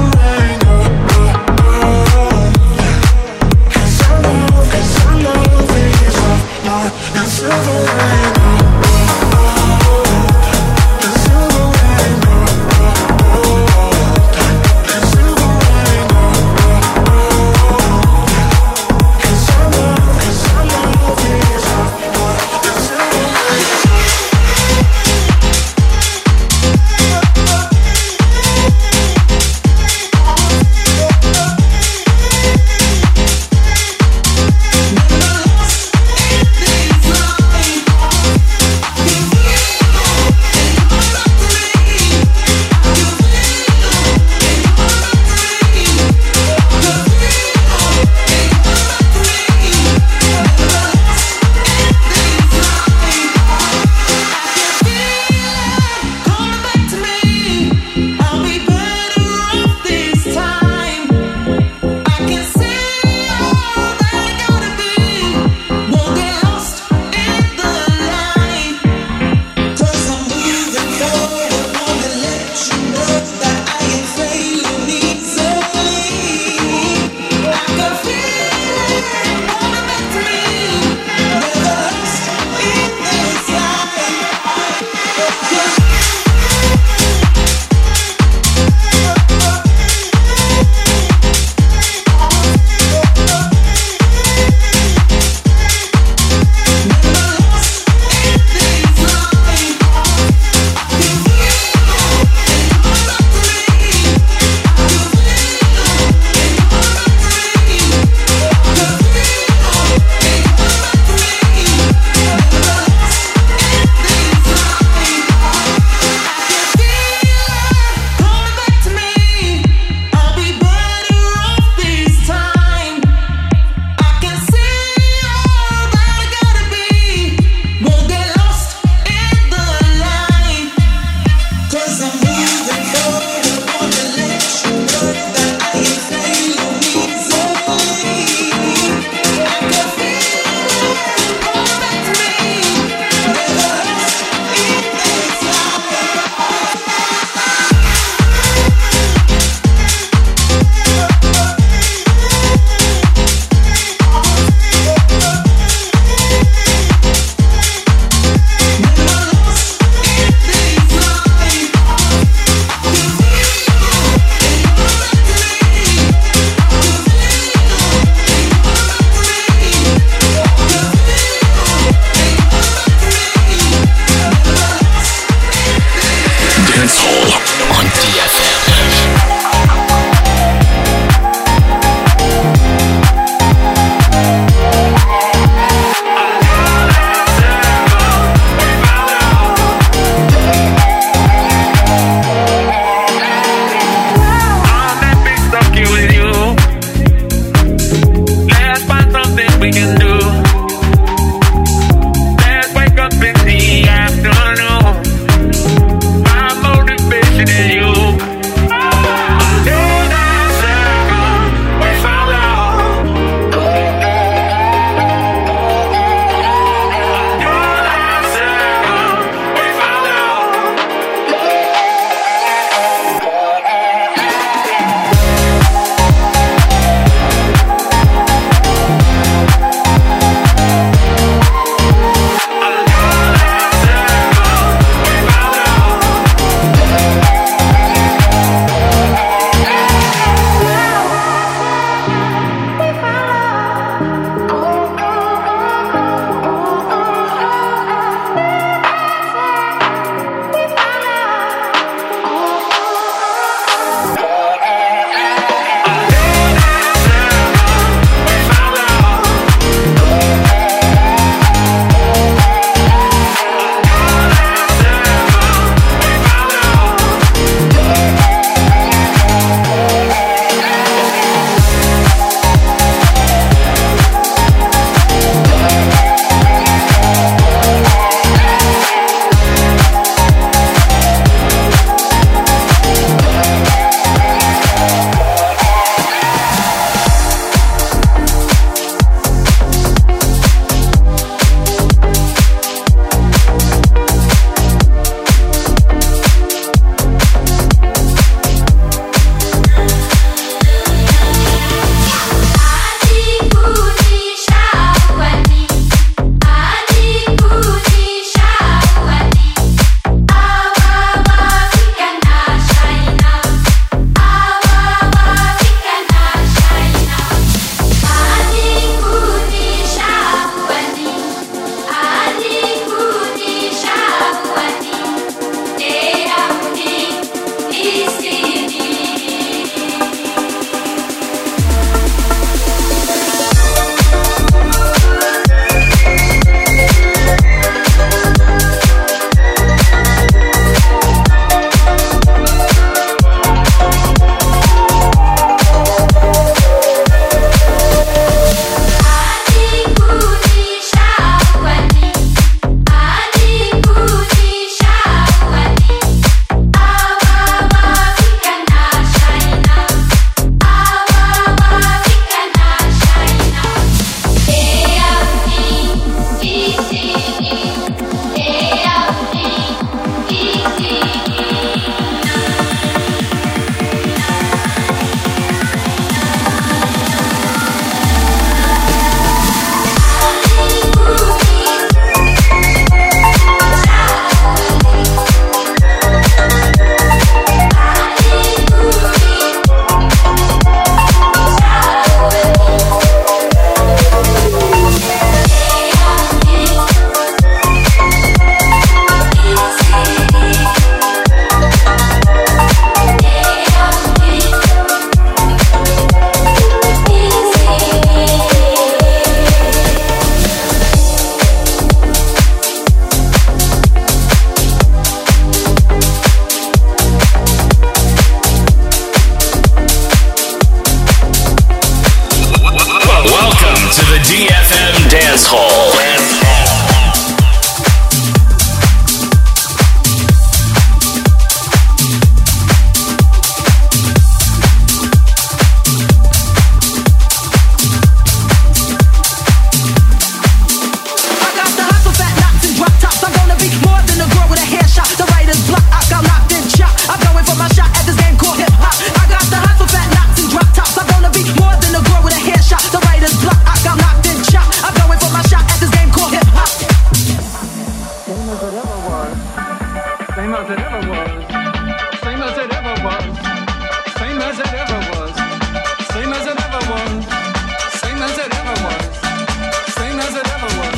as it ever was, same as it ever was, same as it ever was, same as it ever was.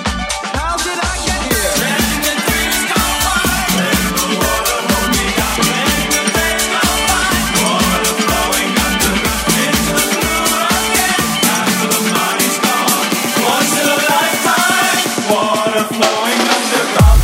How did I get here? Letting the days go by, letting the water hold me down. Letting the days go by, water flowing underground into the blue again. After the money's gone, once in a lifetime, water flowing underground.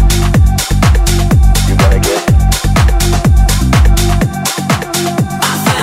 I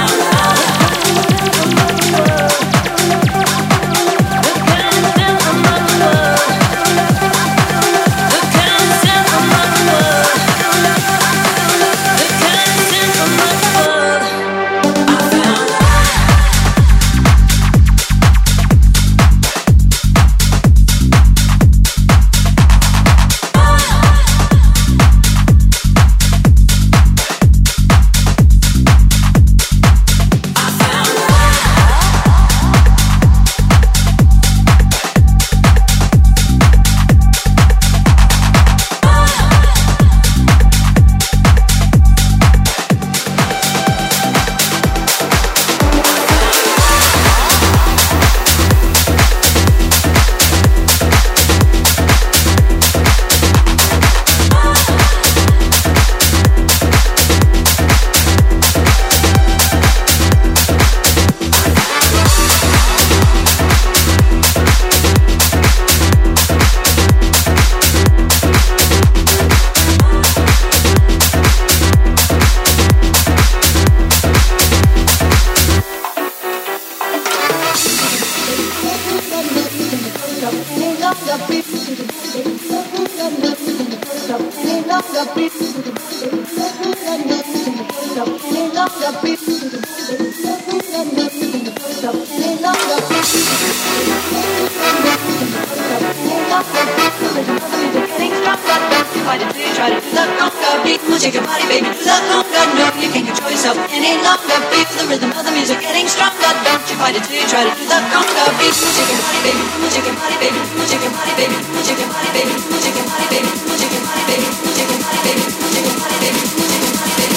Shake your body, baby, do that conga. No, you can't control yourself any longer. Feel the rhythm of the music getting stronger. Don't you fight it till you try to do that conga beat. Shake your body, baby, shake your body, baby, shake your body, baby, shake your body, baby, shake your body, baby, shake your body, baby, shake your body, baby, shake your body, baby, shake your body, baby.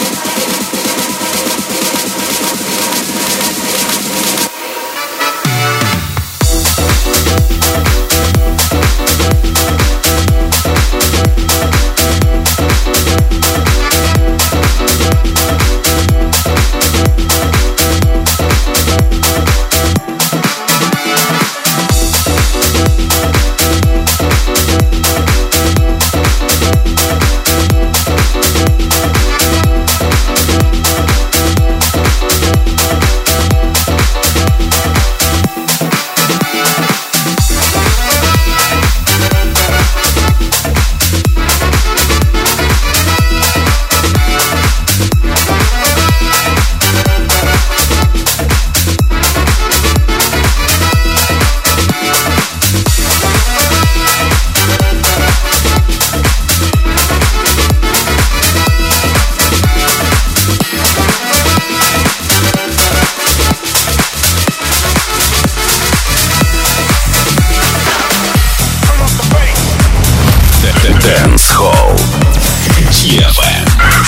Dance Hall ди эф эм.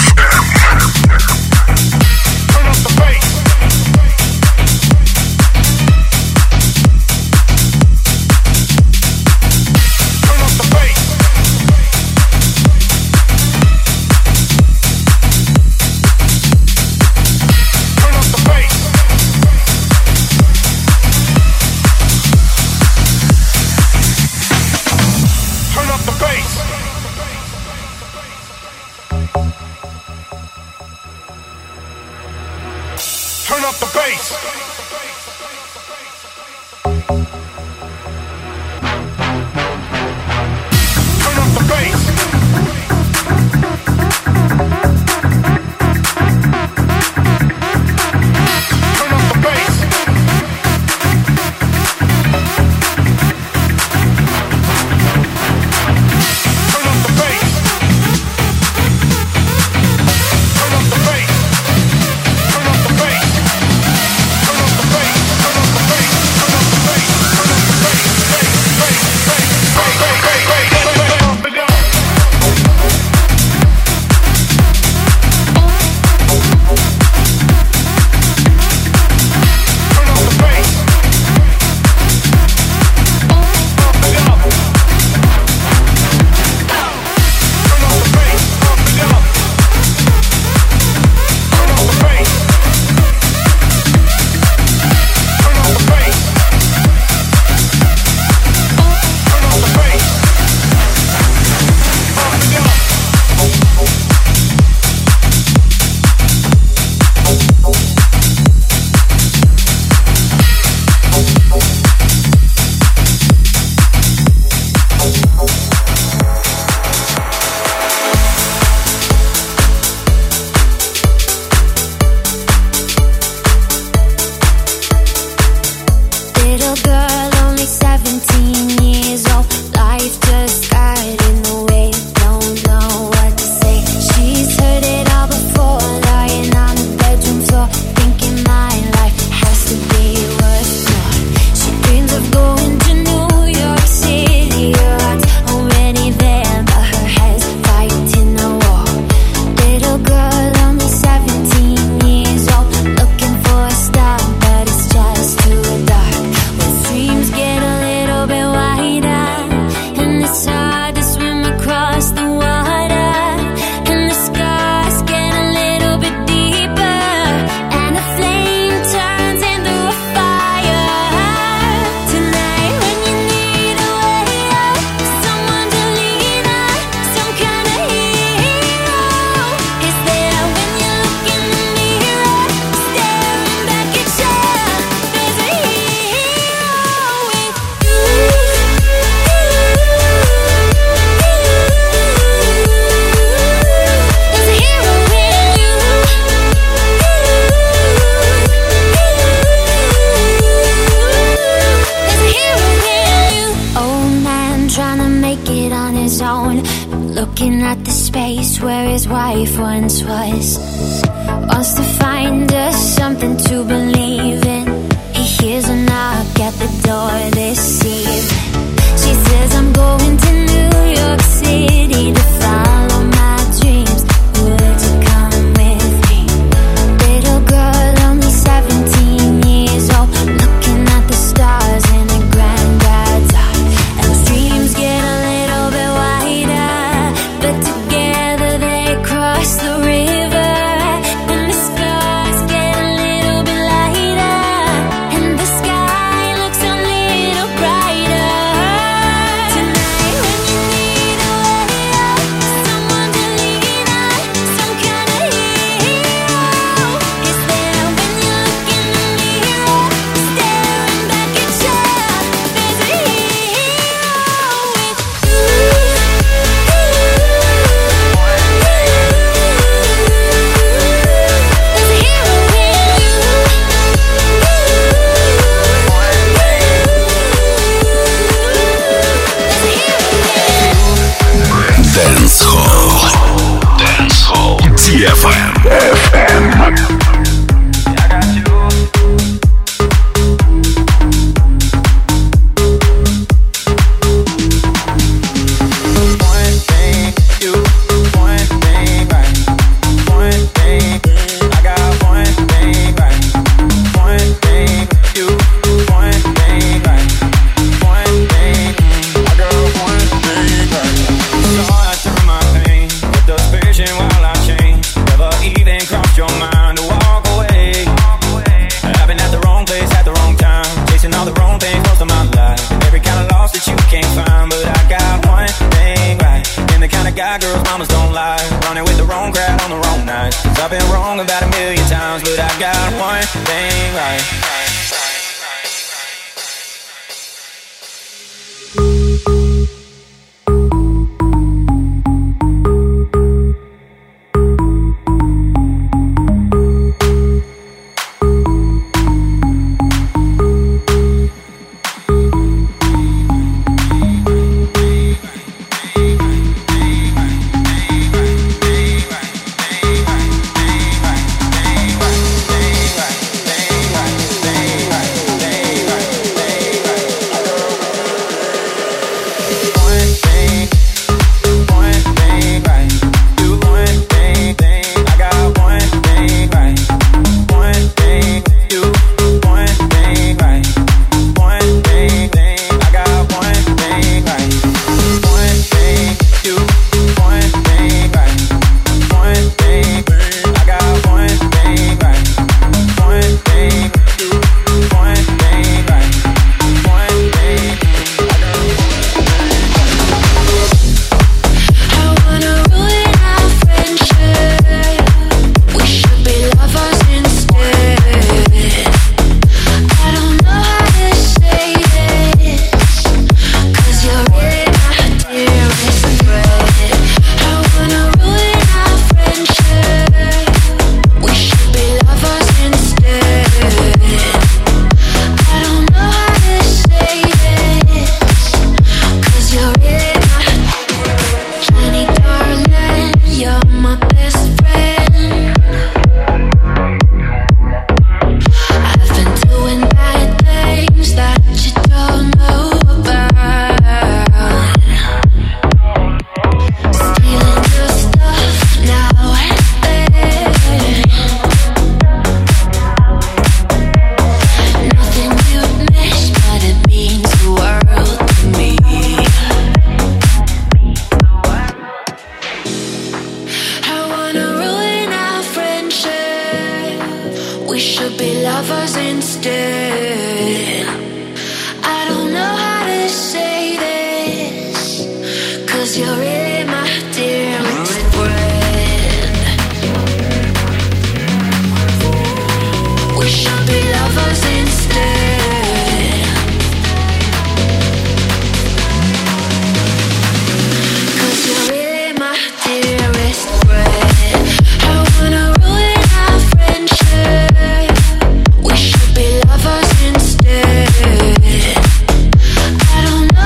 Turn up the bass. Turn up the bass. Turn up the bass. Turn up the bass. Turn up the bass. Turn up the bass. Turn up the bass. Turn up the bass. Turn up the bass. Turn up the bass. Bass, bass, bass, bass, bass, bass, bass, bass, bass, bass, bass, bass. find us something to believe in. He hears a knock at the door this evening. She says I'm going to New York City to follow my dreams. Would you come with me? Little girl, only seventeen years old, looking at the stars in her granddad's eye. And those dreams get a little bit wider, but together they cross the river. And the stars get a little bit lighter, and the sky looks a little brighter. Tonight when you need a way out, someone to lean on, some kind of hero is there when you look in the mirror, staring back at you. There's a hero with you. There's a hero Dance Hall. Dance Hall. ди эф эм. Girls, mamas don't lie, running with the wrong crowd on the wrong night. Cause I've been wrong about a million times, but I got one thing right. I don't know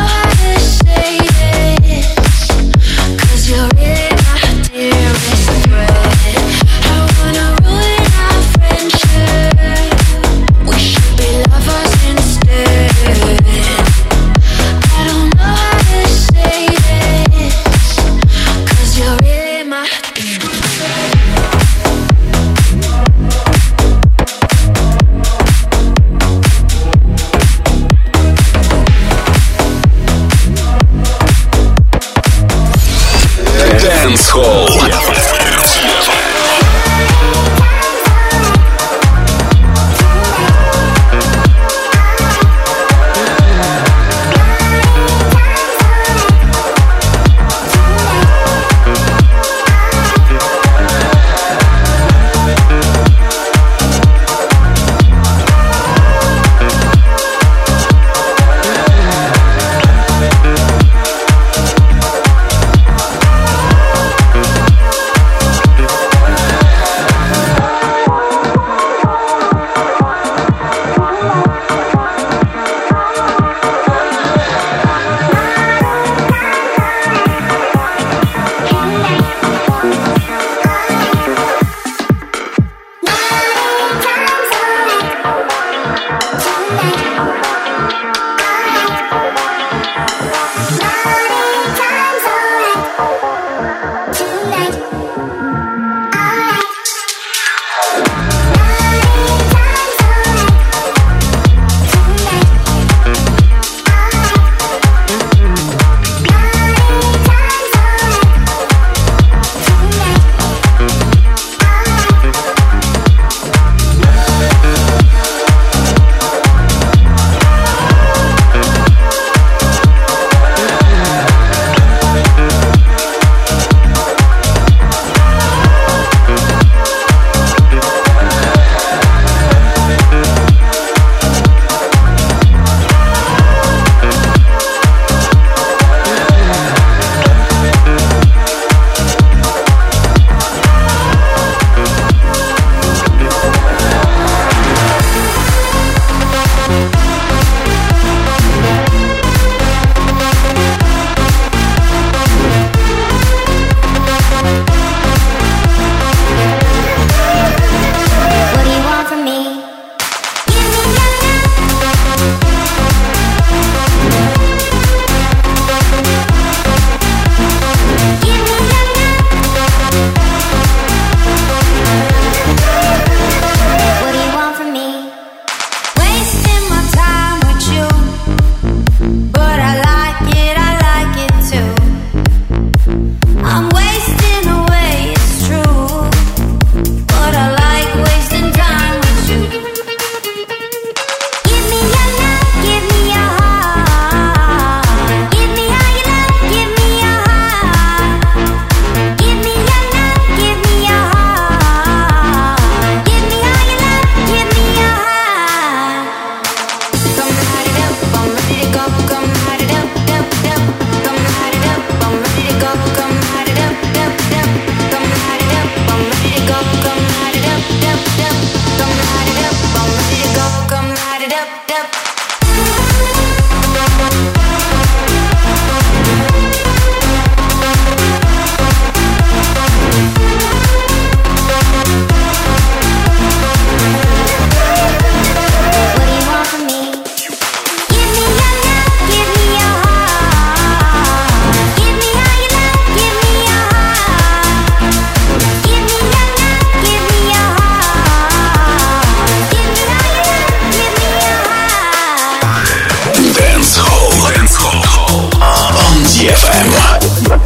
ди эф эм.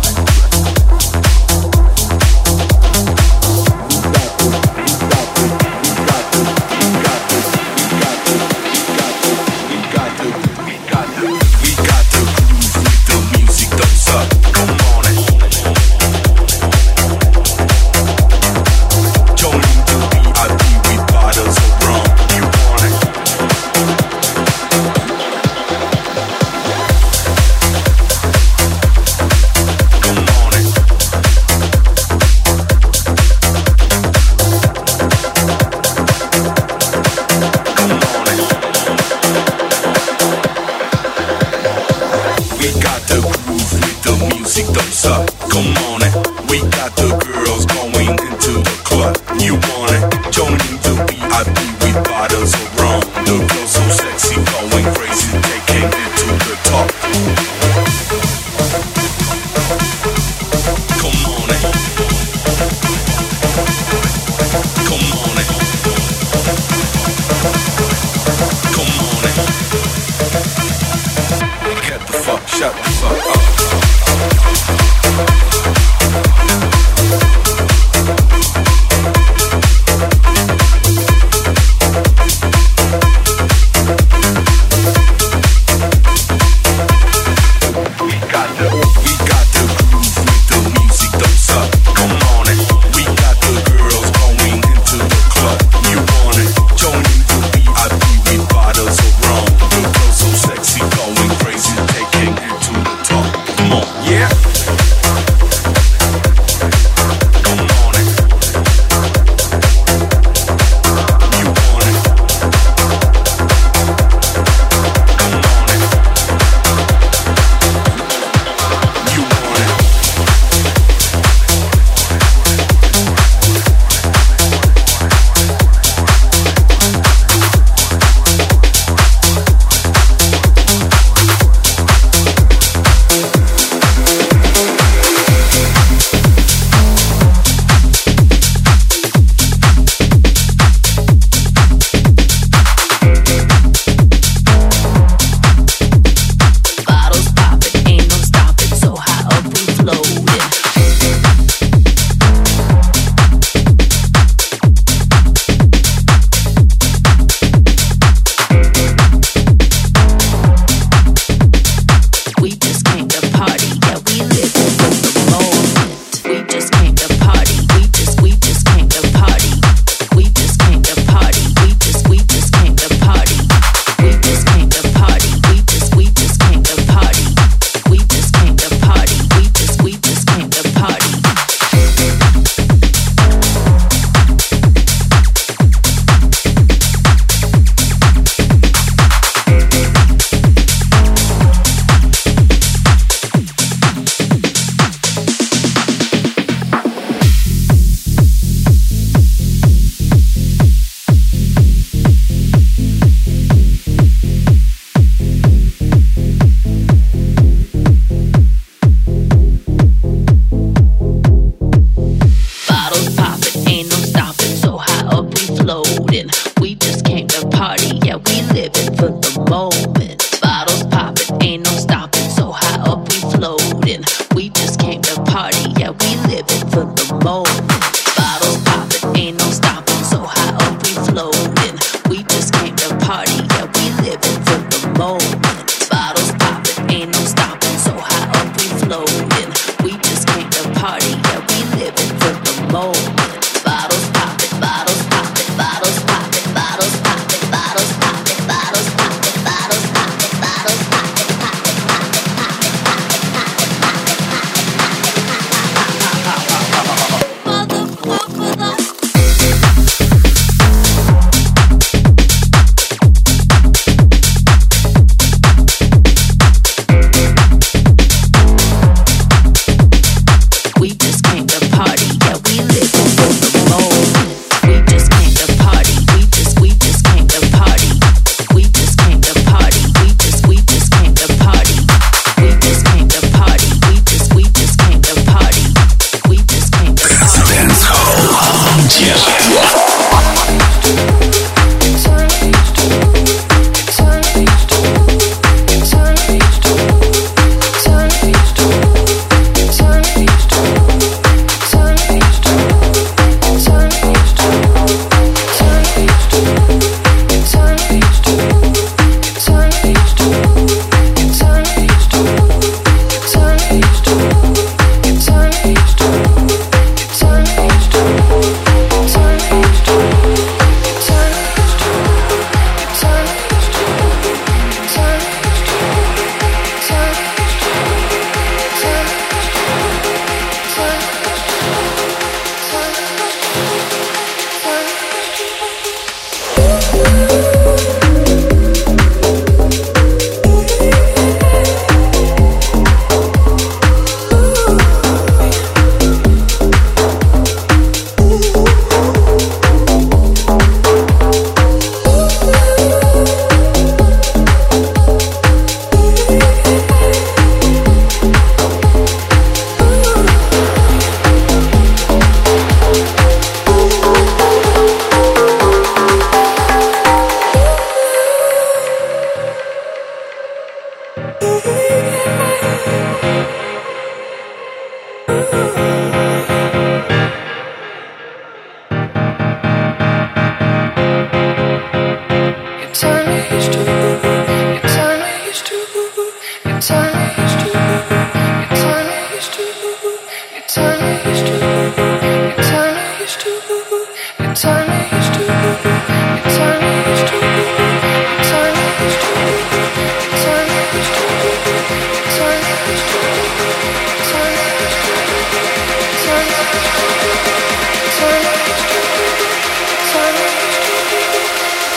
Bottles poppin', bottles poppin', bottles poppin', bottles poppin', bottles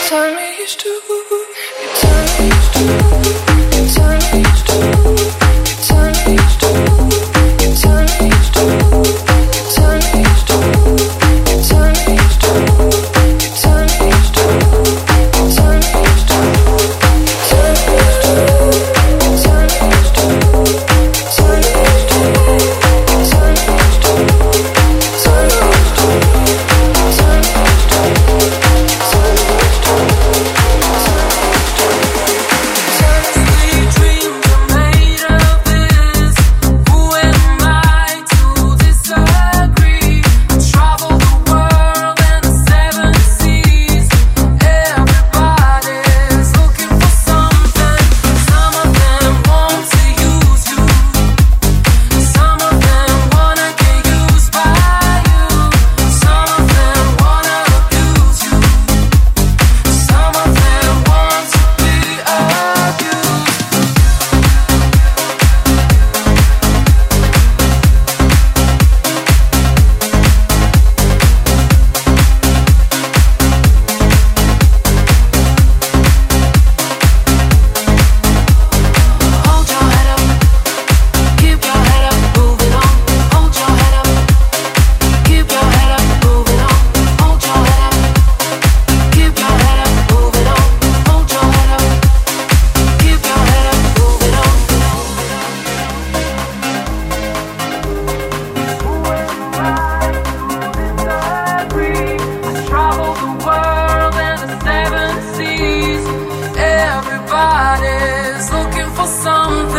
tell me it's true. You tell me it's true. You tell me it's true. You tell me it's true. You tell me it's true. You tell me it's true. You tell me it's true. You tell me it's true. You tell me it's true. Tell me it's true. You tell me it's true. Tell me it's true. Tell me it's true. Tell me it's true. Tell me it's Everybody's looking for something.